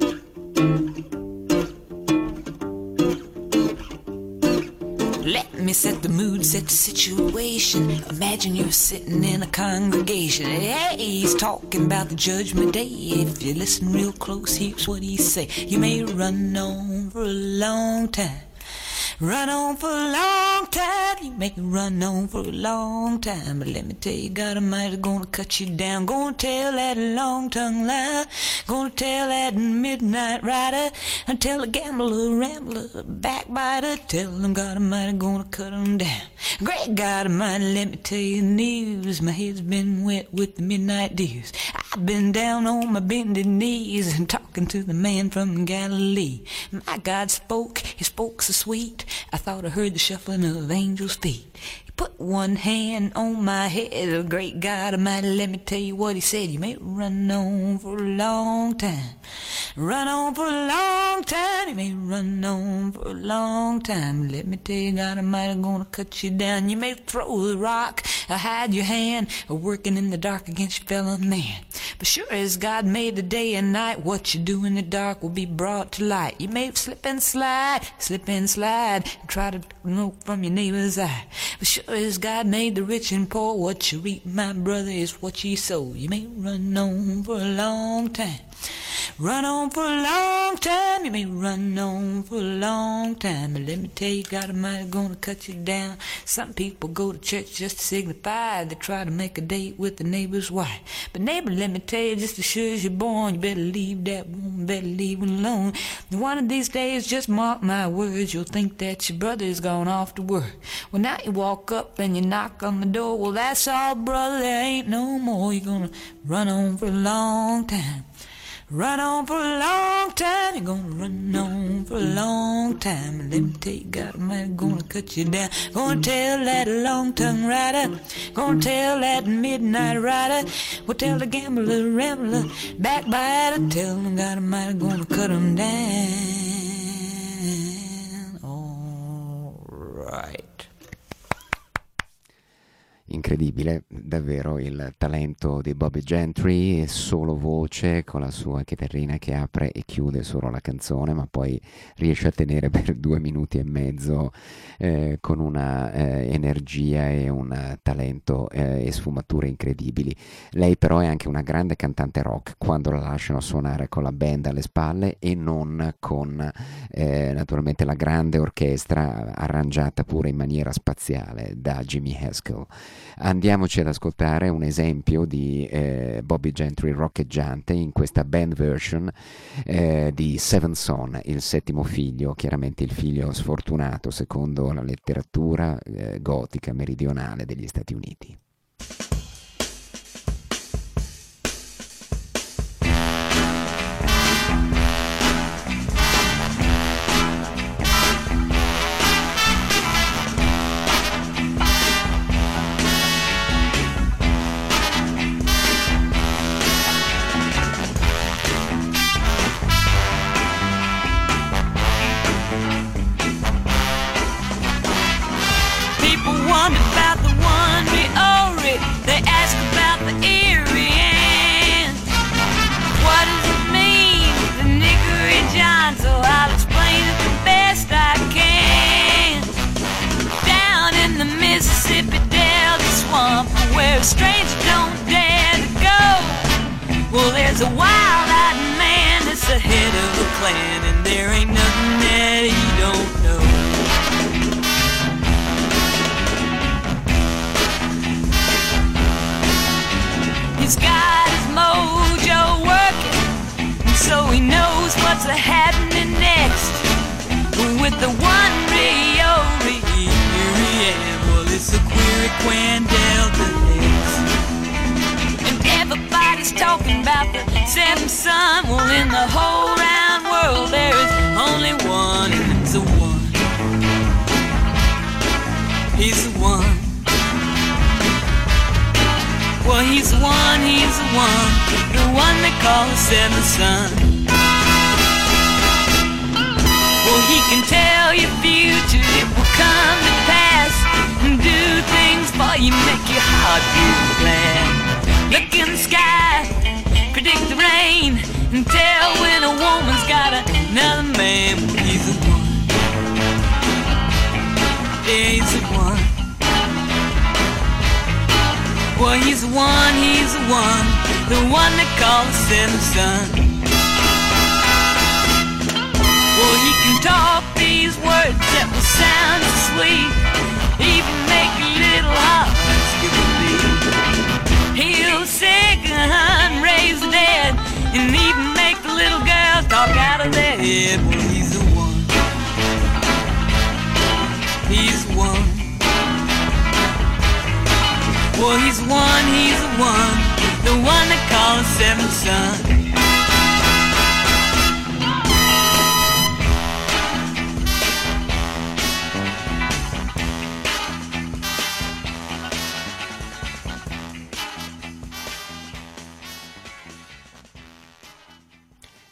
Let me set the mood, set the situation. Imagine you're sitting in a congregation. Hey, he's talking about the judgment day. If you listen real close, here's what he say. You may run on for a long time. Run on for a long time, you make me run on for a long time. But let me tell you, God Almighty gonna cut you down. Gonna tell that long-tongued lie. Gonna tell that midnight rider. And tell the gambler, rambler, backbiter. Tell them God Almighty gonna cut them down. Great God Almighty, let me tell you the news. My head's been wet with the midnight dews. I've been down on my bended knees and talking to the man from Galilee. My God spoke, he spoke so sweet. I thought I heard the shuffling of angels' feet. He put one hand on my head. Oh, great God Almighty, let me tell you what he said. You may run on for a long time. Run on for a long time, you may run on for a long time. Let me tell you, God Almighty gonna cut you down. You may throw the rock, or hide your hand, or working in the dark against your fellow man. But sure as God made the day and night, what you do in the dark will be brought to light. You may slip and slide, slip and slide, and try to know from your neighbor's eye. But sure as God made the rich and poor, what you reap, my brother, is what you sow. You may run on for a long time. Run on for a long time, you may run on for a long time. But let me tell you, God Almighty gonna cut you down. Some people go to church just to signify. They try to make a date with the neighbor's wife. But neighbor, let me tell you, just as sure as you're born, you better leave that woman, better leave her alone. One of these days, just mark my words, you'll think that your brother's gone off to work. Well, now you walk up and you knock on the door. Well, that's all, brother, there ain't no more. You're gonna run on for a long time. Run on for a long time, you're gonna run on for a long time. And let me tell you, God Almighty gonna cut you down. Gonna tell that long-tongued rider, gonna tell that midnight rider, we'll tell the gambler, rambler, backbiter, tell them God Almighty gonna cut them down. All right. Incredibile, davvero il talento di Bobby Gentry, solo voce con la sua chitarrina che apre e chiude solo la canzone, ma poi riesce a tenere per due minuti e mezzo eh, con una eh, energia e un talento eh, e sfumature incredibili. Lei però è anche una grande cantante rock quando la lasciano suonare con la band alle spalle e non con eh, naturalmente la grande orchestra arrangiata pure in maniera spaziale da Jimmy Haskell. Andiamoci ad ascoltare un esempio di eh, Bobby Gentry roccheggiante in questa band version eh, di Seven Son, il settimo figlio, chiaramente il figlio sfortunato secondo la letteratura eh, gotica meridionale degli Stati Uniti. A stranger don't dare to go. Well, there's a wild-eyed man that's the head of a clan, and there ain't nothing that he don't know. He's got his mojo working, and so he knows what's a-happening next. With the one Rio, here he am. Well, it's a Quiriquan Delta. Everybody's talking about the seventh son. Well, in the whole round world there is only one, and it's the one. He's the one. Well, he's the one, he's the one, the one they call the seventh son. Well, he can tell your future, it will come to pass, and do things for you, make your heart feel glad. Look in the sky, predict the rain, and tell when a woman's got another man. Well, he's the one. Yeah, he's the one. Well, he's the one, he's the one, the one they call the seventh son. Well, he can talk these words that will sound sweet, even make little hearts skip a beat. He'll sick and raise the dead, and even make the little girls talk out of their head. Well, he's the one. He's the one. Well, he's the one, he's the one, the one they call the seventh son.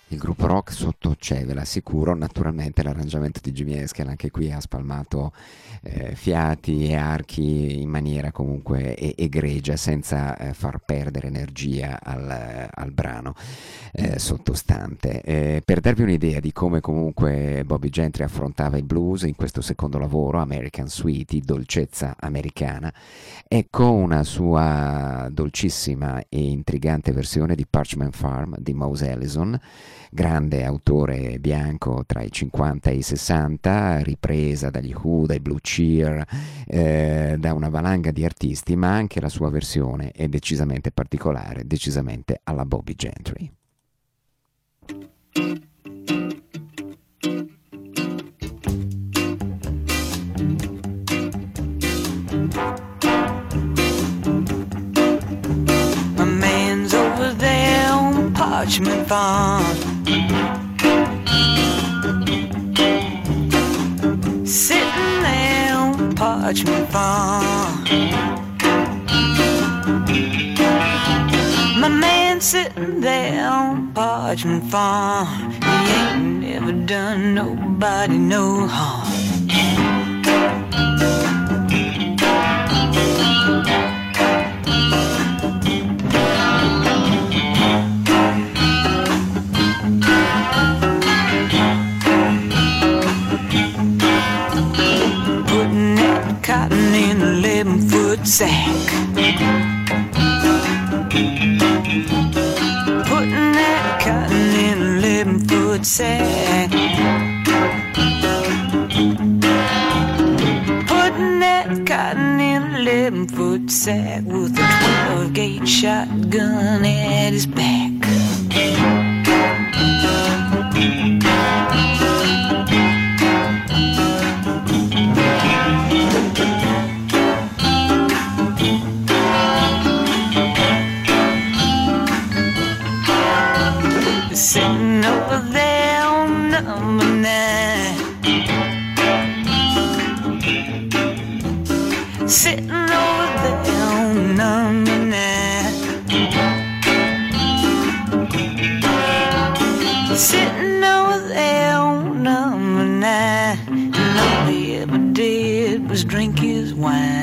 Il gruppo rock sotto c'è, ve l'assicuro. Naturalmente l'arrangiamento di Jimmy Eskel anche qui ha spalmato eh, fiati e archi in maniera comunque e- egregia, senza eh, far perdere energia al, al brano eh, sottostante. Eh, per darvi un'idea di come comunque Bobby Gentry affrontava il blues in questo secondo lavoro, American Sweetie, dolcezza americana, ecco una sua dolcissima e intrigante versione di Parchment Farm di Mose Allison, grande autore bianco tra i cinquanta e i sessanta, ripresa dagli Who, dai Blue Cheer, eh, da una valanga di artisti, ma anche la sua versione è decisamente particolare, decisamente alla Bobby Gentry. My man's over there on Parchment Farm, sitting there on Parchment Farm. My man sitting there on Parchment Farm, he ain't never done nobody no harm. Putting that cotton in a eleven-foot sack, putting that cotton in an eleven-foot sack, putting that cotton in an eleven-foot sack with a twelve-gauge shotgun at his back. Sitting over there on number nine, sitting over there on number nine, sitting over there on number nine, and all he ever did was drink his wine.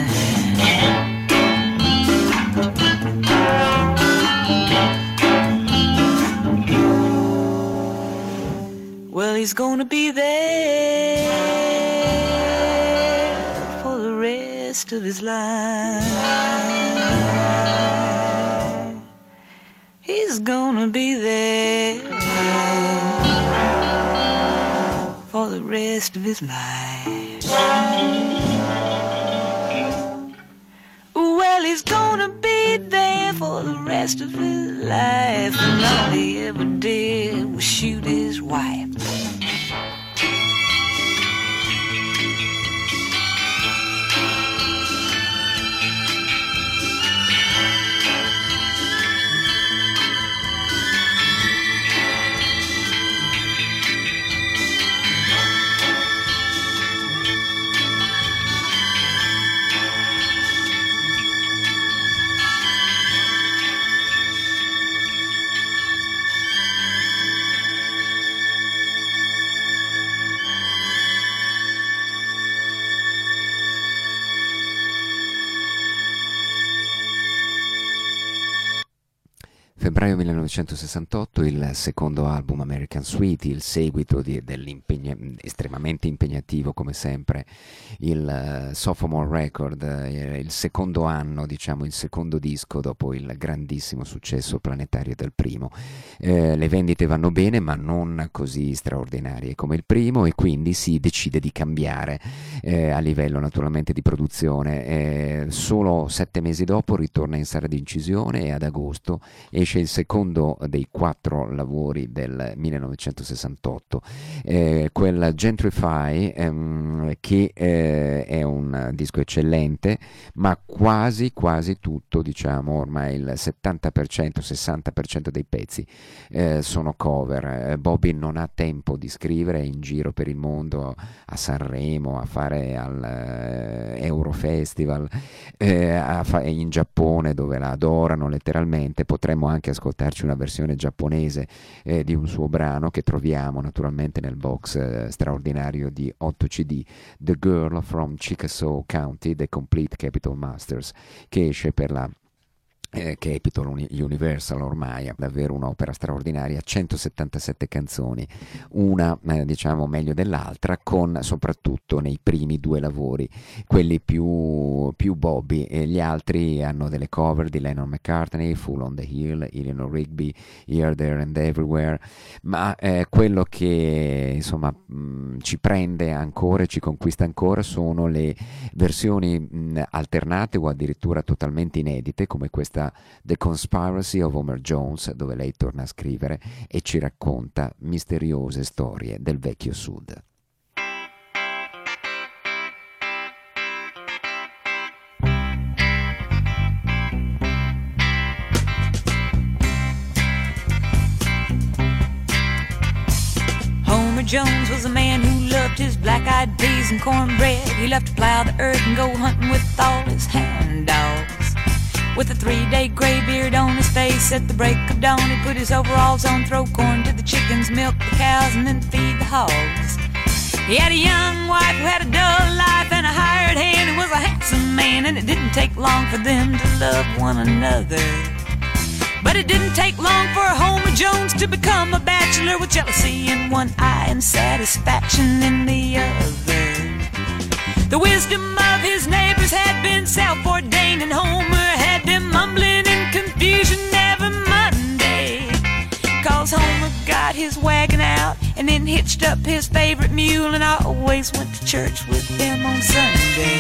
Well, he's gonna be there for the rest of his life. He's gonna be there for the rest of his life. Well, he's gonna be there for the rest of his life, and all he ever did was shoot his wife. Febbraio millenovecentosessantotto, il secondo album American Sweetie, il seguito di, estremamente impegnativo come sempre, il uh, Sophomore Record, eh, il secondo anno, diciamo il secondo disco dopo il grandissimo successo planetario del primo. Eh, le vendite vanno bene ma non così straordinarie come il primo, e quindi si decide di cambiare eh, a livello naturalmente di produzione. Eh, solo sette mesi dopo ritorna in sala di incisione e ad agosto esce il secondo dei quattro lavori del millenovecentosessantotto, eh, quel Gentrify, ehm, che eh, è un disco eccellente, ma quasi quasi tutto, diciamo ormai il settanta per cento sessanta per cento dei pezzi eh, sono cover. Eh, Bobby non ha tempo di scrivere, è in giro per il mondo, a Sanremo, a fare al eh, Eurofestival, eh, a fa- in Giappone dove la adorano letteralmente. Potremmo anche ascoltarci una versione giapponese eh, di un suo brano che troviamo naturalmente nel box eh, straordinario di otto C D, The Girl from Chickasaw County, The Complete Capitol Masters, che esce per la Eh, Capitol Universal, ormai è davvero un'opera straordinaria, centosettantasette canzoni, una eh, diciamo meglio dell'altra, con soprattutto nei primi due lavori quelli più, più Bobby, e gli altri hanno delle cover di Lennon McCartney, Fool on the Hill, Eleanor Rigby, Here, There and Everywhere, ma eh, quello che insomma mh, ci prende ancora e ci conquista ancora sono le versioni mh, alternate o addirittura totalmente inedite, come questa The Conspiracy of Homer Jones, dove lei torna a scrivere e ci racconta misteriose storie del vecchio Sud. Homer Jones was a man who loved his black-eyed peas and cornbread. He loved to plow the earth and go hunting with all his hound dogs. With a three-day gray beard on his face, at the break of dawn he'd put his overalls on, throw corn to the chickens, milk the cows, and then feed the hogs. He had a young wife who had a dull life, and a hired hand who was a handsome man, and it didn't take long for them to love one another. But it didn't take long for Homer Jones to become a bachelor, with jealousy in one eye and satisfaction in the other. The wisdom of his neighbors had been self-ordained, and Homer had them mumbling in confusion every Monday. Cause Homer got his wagon out and then hitched up his favorite mule, and I always went to church with them on Sunday.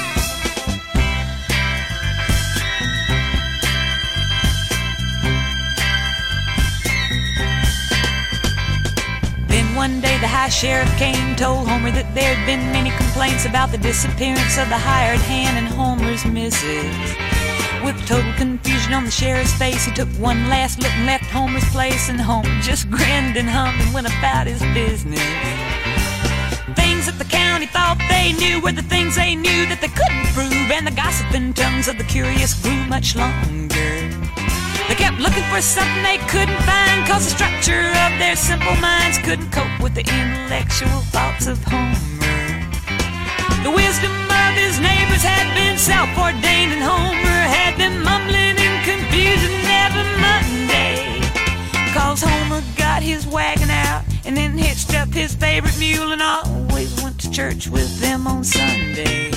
One day the high sheriff came, told Homer that there'd been many complaints about the disappearance of the hired hand and Homer's missus. With total confusion on the sheriff's face, he took one last look and left Homer's place, and Homer just grinned and hummed and went about his business. Things that the county thought they knew were the things they knew that they couldn't prove, and the gossiping tongues of the curious grew much longer. They kept looking for something they couldn't find, cause the structure of their simple minds couldn't cope with the intellectual thoughts of Homer. The wisdom of his neighbors had been self-ordained, and Homer had them mumbling in confusion every Monday. Cause Homer got his wagon out and then hitched up his favorite mule, and always went to church with them on Sunday.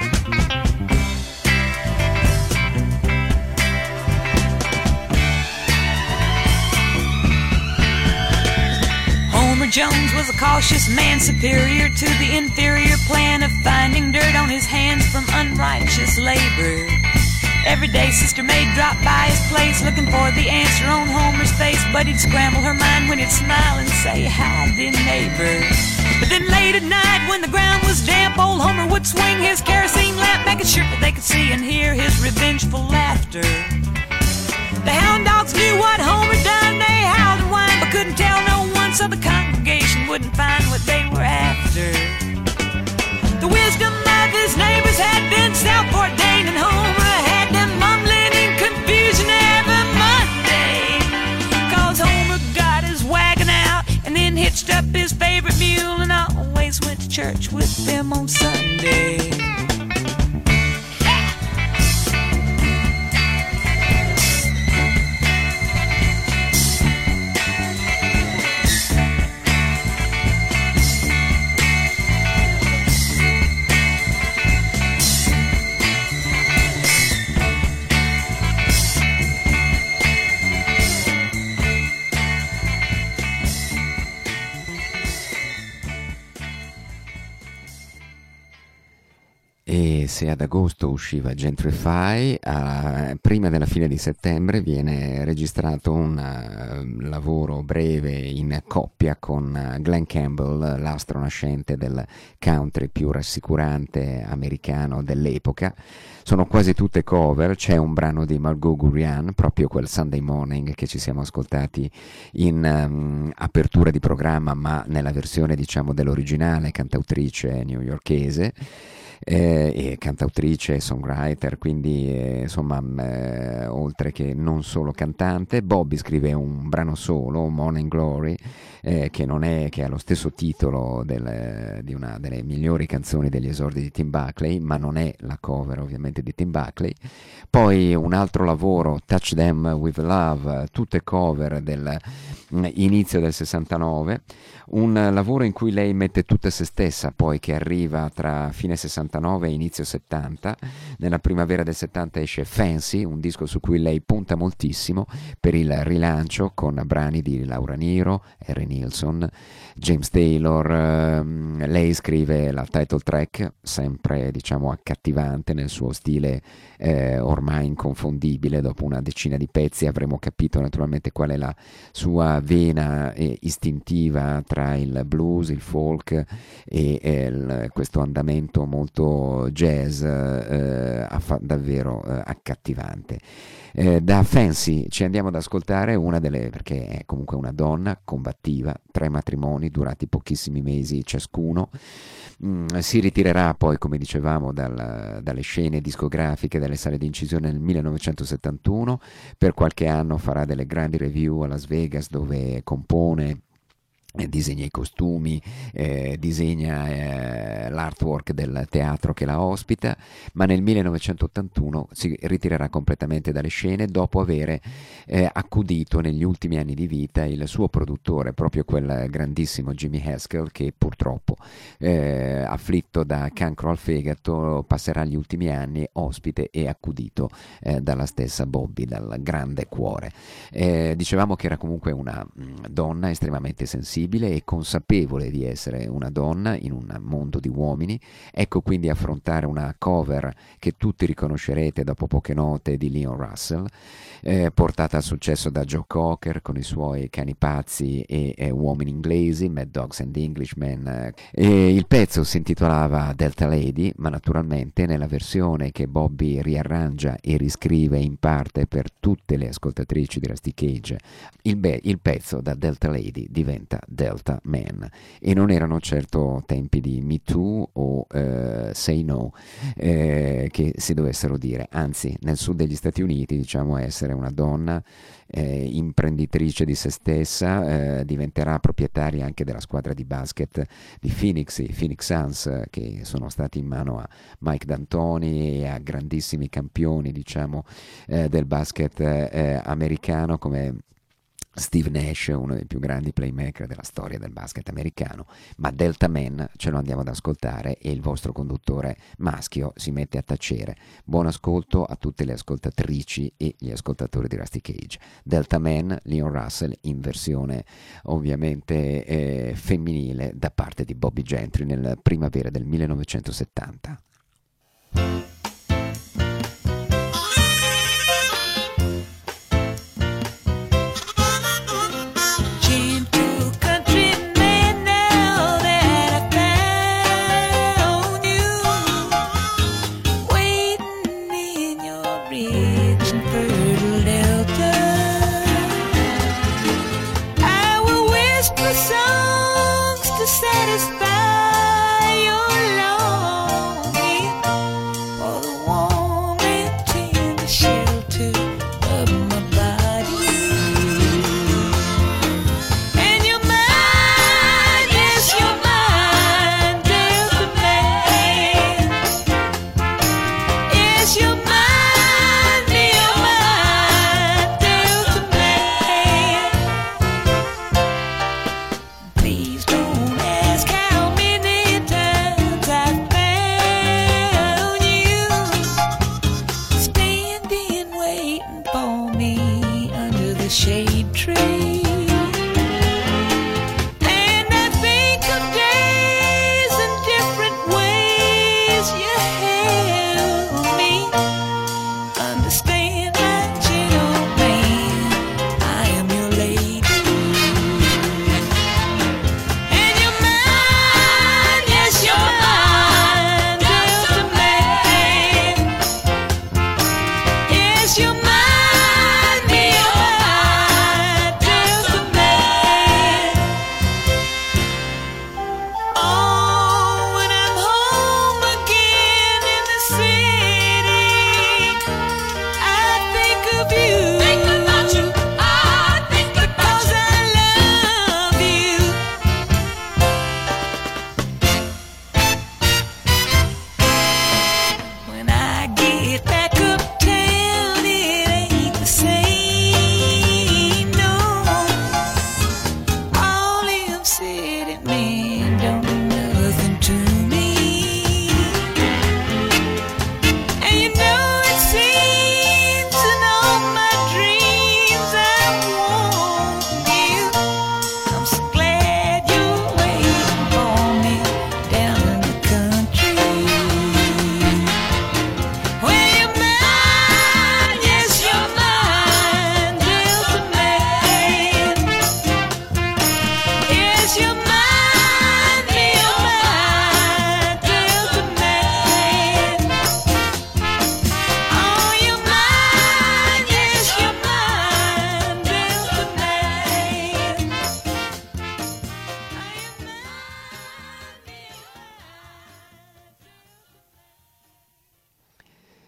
Homer Jones was a cautious man, superior to the inferior plan of finding dirt on his hands from unrighteous labor. Every day Sister May dropped by his place, looking for the answer on Homer's face, but he'd scramble her mind when he'd smile and say, "Hi, dear neighbor." But then late at night when the ground was damp, old Homer would swing his kerosene lamp, making sure that they could see and hear his revengeful laughter. The hound dogs knew what Homer done, they howled and whined, but couldn't tell no one, so the congregation wouldn't find what they were after. The wisdom of his neighbors had been self-ordained, and Homer had them mumbling in confusion every Monday. Cause Homer got his wagon out and then hitched up his favorite mule, and always went to church with them on Sunday. E se ad agosto usciva Gentrify, a, prima della fine di settembre viene registrato un uh, lavoro breve in coppia con uh, Glenn Campbell, l'astro nascente del country più rassicurante americano dell'epoca. Sono quasi tutte cover, c'è un brano di Margot Gurian, proprio quel Sunday Morning che ci siamo ascoltati in um, apertura di programma, ma nella versione diciamo dell'originale cantautrice newyorkese. eh, e cantautrice, songwriter, quindi eh, insomma eh, oltre che non solo cantante. Bobby scrive un brano solo, Morning Glory, eh, che non è che ha lo stesso titolo del, di una delle migliori canzoni degli esordi di Tim Buckley, ma non è la cover ovviamente di Tim Buckley. Poi un altro lavoro, Touch Them With Love, tutte cover del inizio del sessantanove, un lavoro in cui lei mette tutta se stessa, poi che arriva tra fine sessantanove e inizio settanta. Nella primavera del settanta esce Fancy, un disco su cui lei punta moltissimo per il rilancio, con brani di Laura Nyro, Harry Nilsson, James Taylor. Ehm, lei scrive la title track, sempre diciamo accattivante nel suo stile eh, ormai inconfondibile. Dopo una decina di pezzi avremo capito naturalmente qual è la sua vena eh, istintiva tra il blues, il folk e eh, il, questo andamento molto jazz eh, affa- davvero eh, accattivante. Eh, da Fancy ci andiamo ad ascoltare una delle, perché è comunque una donna combattiva, tre matrimoni durati pochissimi mesi ciascuno. Mm, si ritirerà poi, come dicevamo, dal, dalle scene discografiche, dalle sale di incisione nel millenovecentosettantuno. Per qualche anno farà delle grandi review a Las Vegas, dove compone, disegna i costumi, eh, disegna eh, l'artwork del teatro che la ospita, ma nel millenovecentottantuno si ritirerà completamente dalle scene dopo avere eh, accudito negli ultimi anni di vita il suo produttore, proprio quel grandissimo Jimmy Haskell, che purtroppo eh, afflitto da cancro al fegato passerà gli ultimi anni ospite e accudito eh, dalla stessa Bobby, dal grande cuore. Eh, dicevamo che era comunque una mh, donna estremamente sensibile e consapevole di essere una donna in un mondo di uomini. Ecco quindi affrontare una cover che tutti riconoscerete dopo poche note di Leon Russell, eh, portata al successo da Joe Cocker con i suoi Cani pazzi e eh, Uomini inglesi, Mad Dogs and Englishmen. E il pezzo si intitolava Delta Lady, ma naturalmente nella versione che Bobby riarrangia e riscrive in parte per tutte le ascoltatrici di Rusty Cage, il, be- il pezzo da Delta Lady diventa Delta Man. E non erano certo tempi di Me Too o uh, Say No eh, che si dovessero dire, anzi nel sud degli Stati Uniti diciamo essere una donna eh, imprenditrice di se stessa eh, diventerà proprietaria anche della squadra di basket di Phoenix, i Phoenix Suns, eh, che sono stati in mano a Mike D'Antoni e a grandissimi campioni diciamo eh, del basket eh, americano come Steve Nash, uno dei più grandi playmaker della storia del basket americano. Ma Delta Man ce lo andiamo ad ascoltare e il vostro conduttore maschio si mette a tacere. Buon ascolto a tutte le ascoltatrici e gli ascoltatori di Rusty Cage. Delta Man, Leon Russell, in versione ovviamente eh, femminile da parte di Bobby Gentry nel primavera del millenovecentosettanta. Satisfy your longing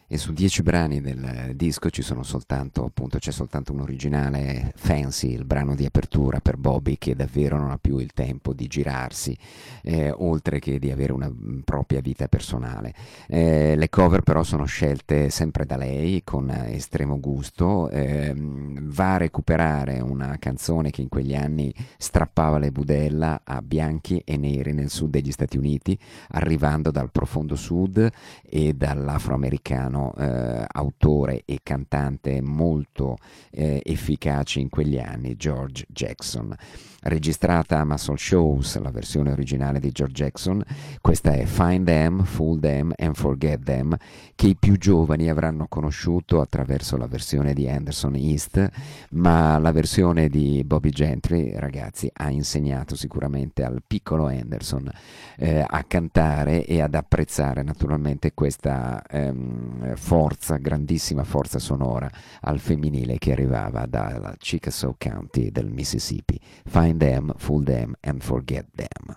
e su dieci brani del disco ci sono soltanto, appunto, c'è soltanto un originale, Fancy, il brano di apertura per Bobby, che davvero non ha più il tempo di girarsi, eh, oltre che di avere una propria vita personale. Eh, le cover però sono scelte sempre da lei con estremo gusto. Eh, va a recuperare una canzone che in quegli anni strappava le budella a bianchi e neri nel sud degli Stati Uniti, arrivando dal profondo sud e dall'afroamericano eh, autore e cantante molto eh, efficace in quegli anni, George Jackson. Registrata a Muscle Shoals, la versione originale di George Jackson, questa è Find Them, Fool Them and Forget Them, che i più giovani avranno conosciuto attraverso la versione di Anderson East, ma la versione di Bobby Gentry, ragazzi, ha insegnato sicuramente al piccolo Anderson eh, a cantare e ad apprezzare naturalmente questa ehm, forza, grandissima forza sonora al femminile che arrivava dalla Chickasaw County del Mississippi. Find them, fool them and forget them.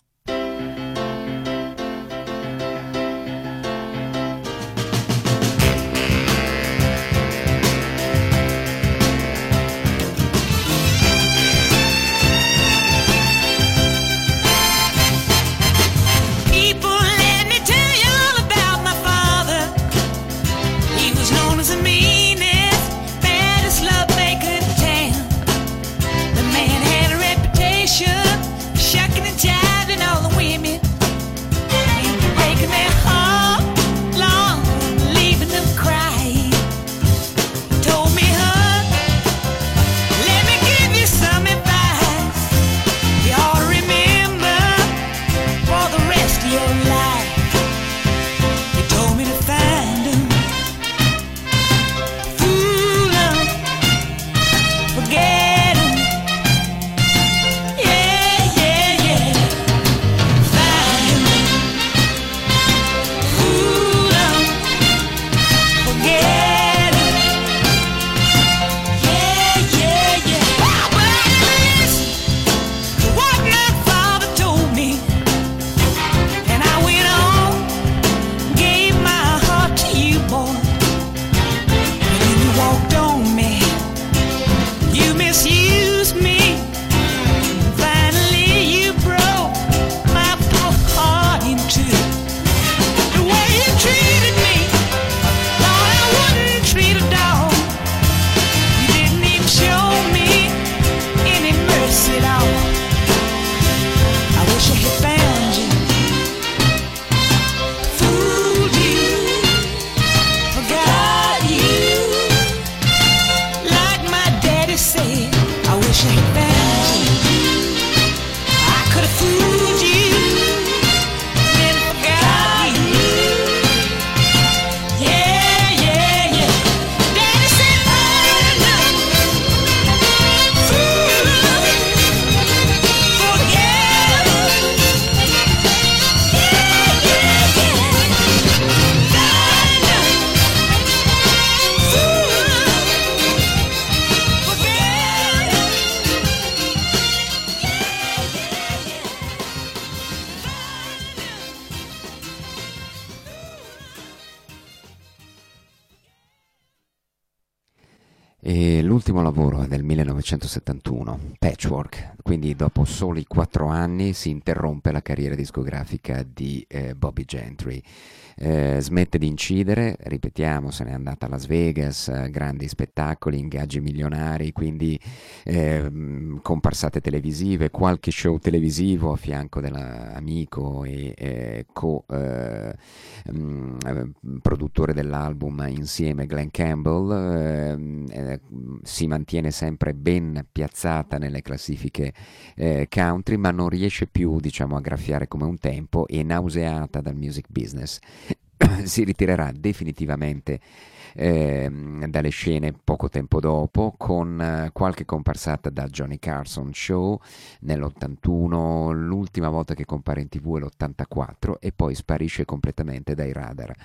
E l'ultimo lavoro è del millenovecentosettantuno, Patchwork, quindi dopo soli quattro anni si interrompe la carriera discografica di eh, Bobby Gentry. Eh, smette di incidere, ripetiamo, se n'è andata a Las Vegas, eh, grandi spettacoli, ingaggi milionari, quindi eh, comparsate televisive, qualche show televisivo a fianco dell'amico e eh, co eh, mh, produttore dell'album insieme, Glenn Campbell. eh, eh, si mantiene sempre ben piazzata nelle classifiche eh, country, ma non riesce più, diciamo, a graffiare come un tempo, e nauseata dal music business si ritirerà definitivamente eh, dalle scene poco tempo dopo, con eh, qualche comparsata da Johnny Carson Show nell'ottantuno, l'ultima volta che compare in tv è l'ottantaquattro, e poi sparisce completamente dai radar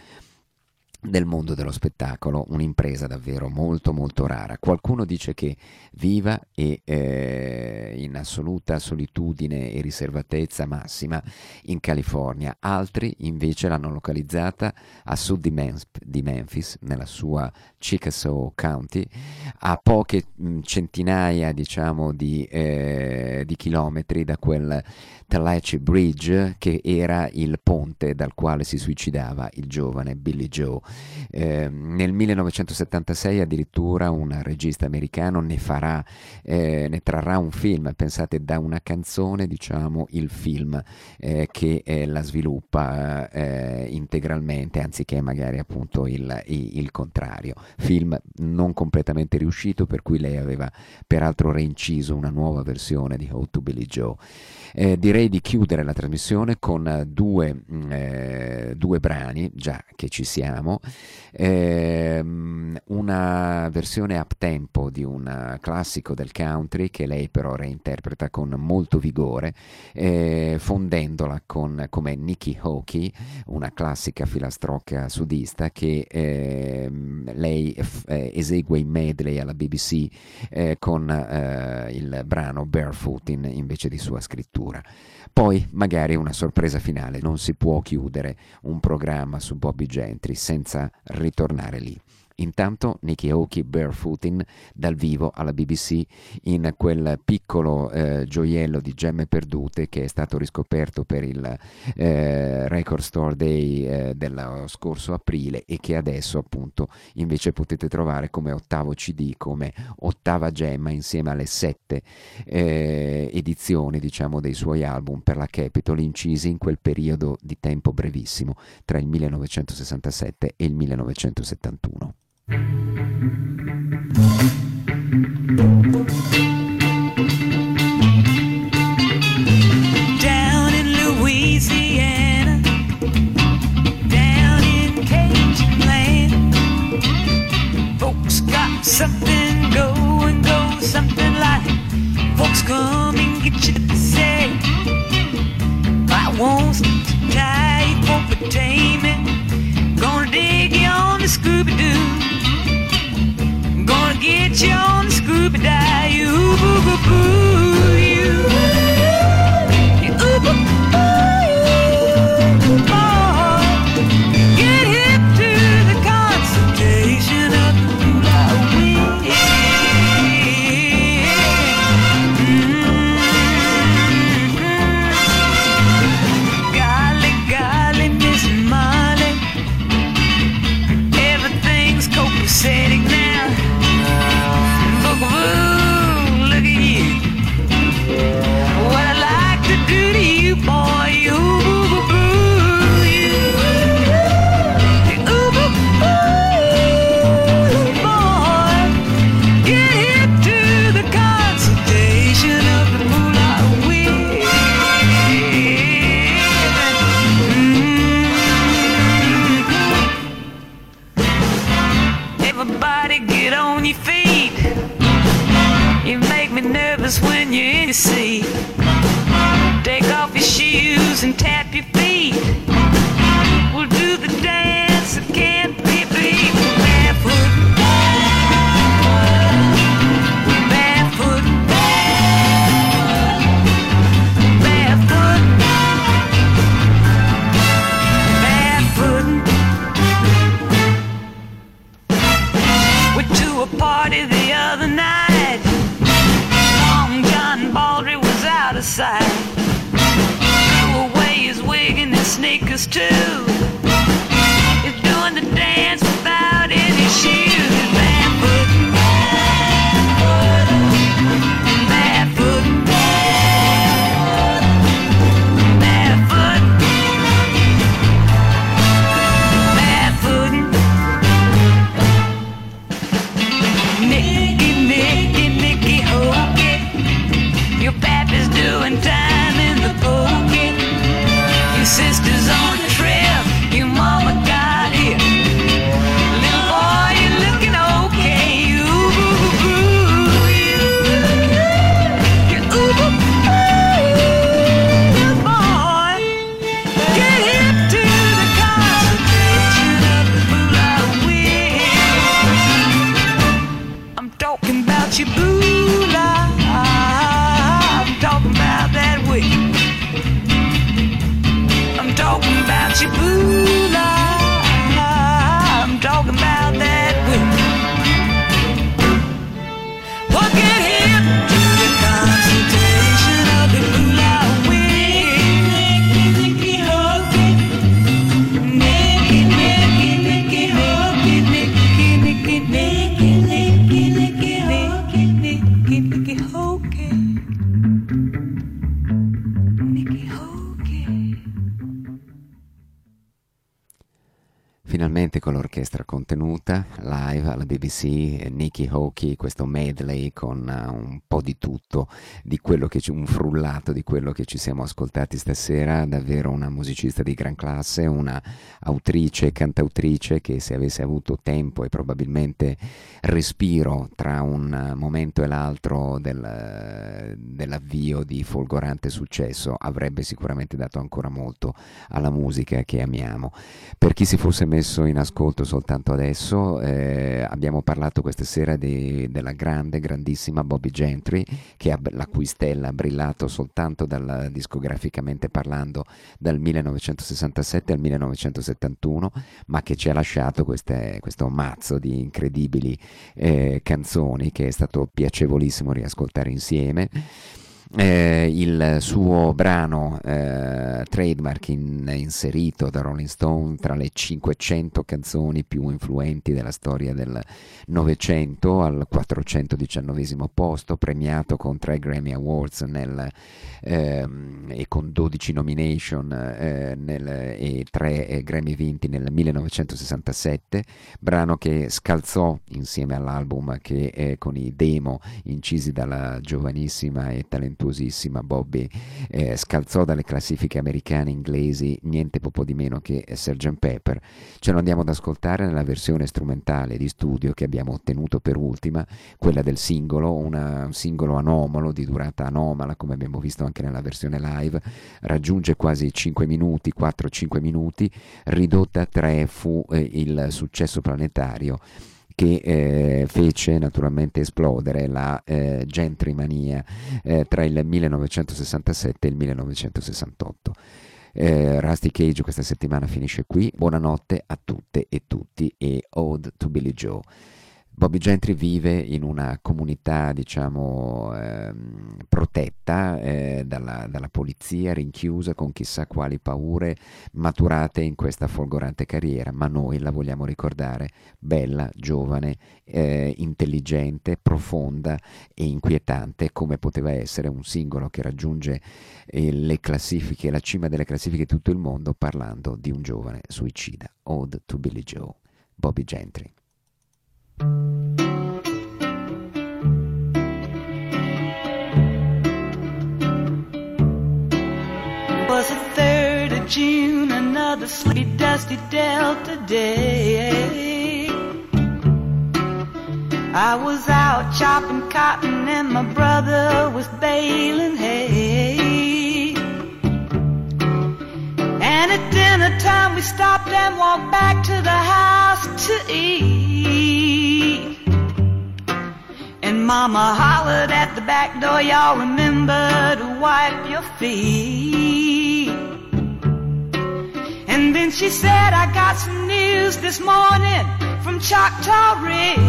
del mondo dello spettacolo, un'impresa davvero molto molto rara. Qualcuno dice che viva e eh, in in assoluta solitudine e riservatezza massima in California. Altri invece l'hanno localizzata a sud di, Mem- di Memphis, nella sua Chickasaw County, a poche mh, centinaia diciamo di, eh, di chilometri da quel Tallahatchie Bridge, che era il ponte dal quale si suicidava il giovane Billy Joe. Eh, nel millenovecentosettantasei addirittura un regista americano ne farà, eh, ne trarrà un film, pensate, da una canzone, diciamo, il film eh, che eh, la sviluppa eh, integralmente, anziché magari appunto il, il, il contrario. Film non completamente riuscito, per cui lei aveva peraltro reinciso una nuova versione di How to Billy Joe. Eh, direi di chiudere la trasmissione con due, eh, due brani, già che ci siamo, eh, una versione up tempo di un classico del country che lei però reinterpreta con molto vigore, eh, fondendola con, come Nikki Hawkey, una classica filastrocca sudista che eh, lei eh, esegue in medley alla B B C eh, con eh, il brano Barefootin invece di sua scrittura. Poi magari una sorpresa finale, non si può chiudere un programma su Bobby Gentry senza ritornare lì. Intanto Nikki Hawkey, Barefootin, dal vivo alla B B C in quel piccolo eh, gioiello di gemme perdute che è stato riscoperto per il eh, Record Store Day eh, dello scorso aprile e che adesso appunto invece potete trovare come ottavo C D, come ottava gemma insieme alle sette eh, edizioni, diciamo, dei suoi album per la Capitol, incisi in quel periodo di tempo brevissimo tra il millenovecentosessantasette e il millenovecentosettantuno. Down in Louisiana, down in Cajun land, folks got something going, go something like, folks come and get you to say, I want to tie you for payment, gonna dig you on the Scooby-Doo. Gonna get you on the Scooby Doo, you boo boo boo, you, you boo boo boo, boy. Get hip to the consultation of the moolah wind. Mm-hmm. Golly, golly, Miss Molly, everything's copacetic now. Ooh, look at you. What I like to do to you, boy, you boo boo boo, you, you boo boo boo, boy. Get hip to the consultation of the moolah wind. Mm-hmm. Everybody get on your feet. You make me nervous when you're in your seat. Take off your shoes and tap your feet. We'll do the dance that can't be beat. Barefoot, barefoot, barefoot, barefoot. Went to a party the other night. Baldry was out of sight. Threw away his wig and his sneakers too. He's doing the dance without any shoes. Barefoot, barefoot, barefoot, barefoot. Nicky, Nicky, Nicky Hawkey, your pappy's doing time in the pokey. Your sister's on the trail, your mama got here. Little boy, you're looking okay. You boo boo boo, you, you boo boo boo, boy. Get hip to the consultation of the moolah wind. I'm talking about your moolah. finalmente con l'orchestra contenuta, live alla B B C, Nicky Hawkey, questo medley con uh, un po' di tutto, di quello che ci, un frullato di quello che ci siamo ascoltati stasera, davvero una musicista di gran classe, una autrice e cantautrice che se avesse avuto tempo e probabilmente respiro tra un momento e l'altro del, dell'avvio di folgorante successo, avrebbe sicuramente dato ancora molto alla musica che amiamo. Per chi si fosse messo in ascolto soltanto adesso, eh, abbiamo parlato questa sera di, della grande, grandissima Bobbie Gentry, che ha, la cui stella ha brillato soltanto dal, discograficamente parlando dal millenovecentosessantasette al millenovecentosettantuno, ma che ci ha lasciato queste, questo mazzo di incredibili eh, canzoni che è stato piacevolissimo riascoltare insieme. Eh, il suo brano eh, trademark in, inserito da Rolling Stone tra le cinquecento canzoni più influenti della storia del Novecento, al quattrocentodiciannovesimo posto, premiato con tre Grammy Awards nel, ehm, e con dodici nomination eh, nel, e tre eh, Grammy vinti nel millenovecentosessantasette, brano che scalzò insieme all'album che eh, con i demo incisi dalla giovanissima e talentuosissima Bobbie eh, scalzò dalle classifiche americane e inglesi niente poco di meno che sergeant Pepper. Ce lo andiamo ad ascoltare nella versione strumentale di studio che abbiamo ottenuto per ultima, quella del singolo, una, un singolo anomalo di durata anomala, come abbiamo visto anche nella versione live, raggiunge quasi cinque minuti, quattro cinque minuti, ridotta a tre fu eh, il successo planetario che eh, fece naturalmente esplodere la eh, gentrymania eh, tra il millenovecentosessantasette e il millenovecentosessantotto. Eh, Rusty Cage questa settimana finisce qui. Buonanotte a tutte e tutti e Ode to Billy Joe. Bobbie Gentry vive in una comunità, diciamo, ehm, protetta eh, dalla, dalla polizia, rinchiusa con chissà quali paure maturate in questa folgorante carriera, ma noi la vogliamo ricordare bella, giovane, eh, intelligente, profonda e inquietante, come poteva essere un singolo che raggiunge eh, le classifiche, la cima delle classifiche di tutto il mondo, parlando di un giovane suicida. Ode to Billy Joe, Bobbie Gentry. It was the third of June, another sleepy, dusty Delta day. I was out chopping cotton and my brother was baling hay. And at dinner time we stopped and walked back to the house to eat. And Mama hollered at the back door, y'all remember to wipe your feet. And then she said, I got some news this morning from Choctaw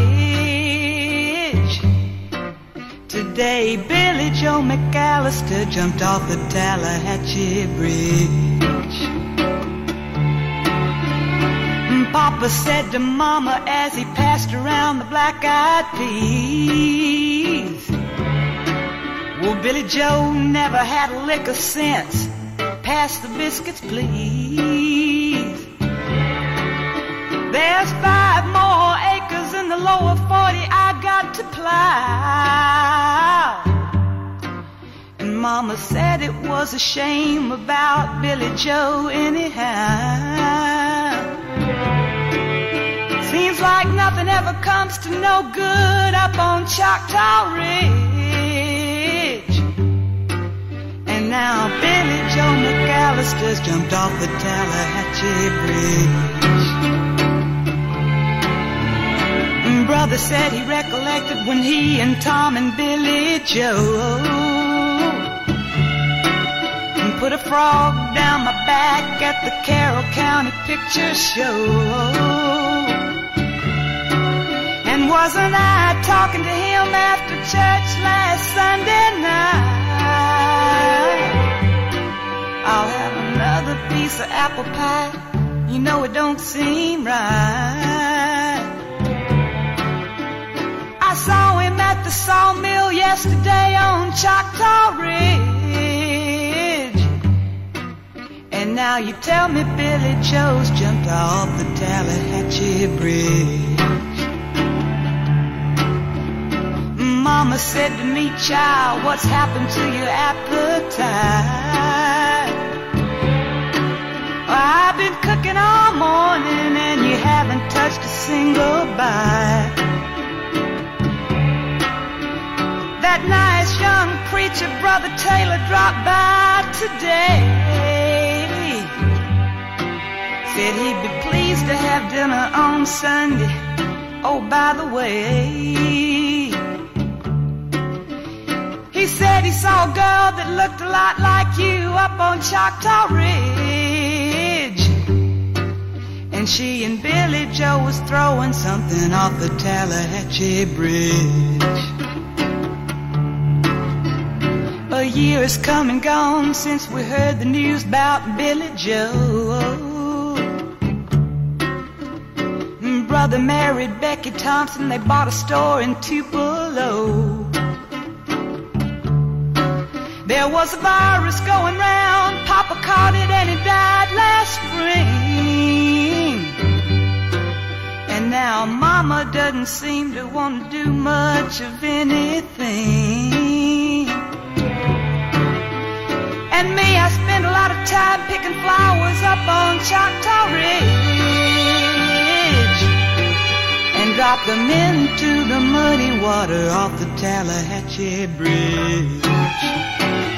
Ridge. Today Billy Joe McAllister jumped off the Tallahatchie Bridge. Papa said to Mama as he passed around the black-eyed peas, well, Billy Joe never had a lick of sense. Pass the biscuits, please. There's five more acres in the lower forty I got to plow. And Mama said it was a shame about Billy Joe anyhow. Seems like nothing ever comes to no good up on Choctaw Ridge. And now Billy Joe McAllister's jumped off the Tallahatchie Bridge. And Brother said he recollected when he and Tom and Billy Joe put a frog down my back at the Carroll County Picture Show. And wasn't I talking to him after church last Sunday night? I'll have another piece of apple pie. You know it don't seem right. I saw him at the sawmill yesterday on Choctaw Ridge. And now Now you tell me Billy Joe's jumped off the Tallahatchie Bridge. Mama said to me, child, what's happened to your appetite? I've been cooking all morning and you haven't touched a single bite. That nice young preacher, Brother Taylor, dropped by today. Said he'd be pleased to have dinner on Sunday. Oh, by the way, he said he saw a girl that looked a lot like you up on Choctaw Ridge. And she and Billy Joe was throwing something off the Tallahatchie Bridge. A year has come and gone since we heard the news about Billy Joe. Brother married Becky Thompson, they bought a store in Tupelo. There was a virus going round, Papa caught it and he died last spring. And now Mama doesn't seem to want to do much of anything. And me, I spend a lot of time picking flowers up on Choctaw Ridge and drop them into the muddy water off the Tallahatchie Bridge.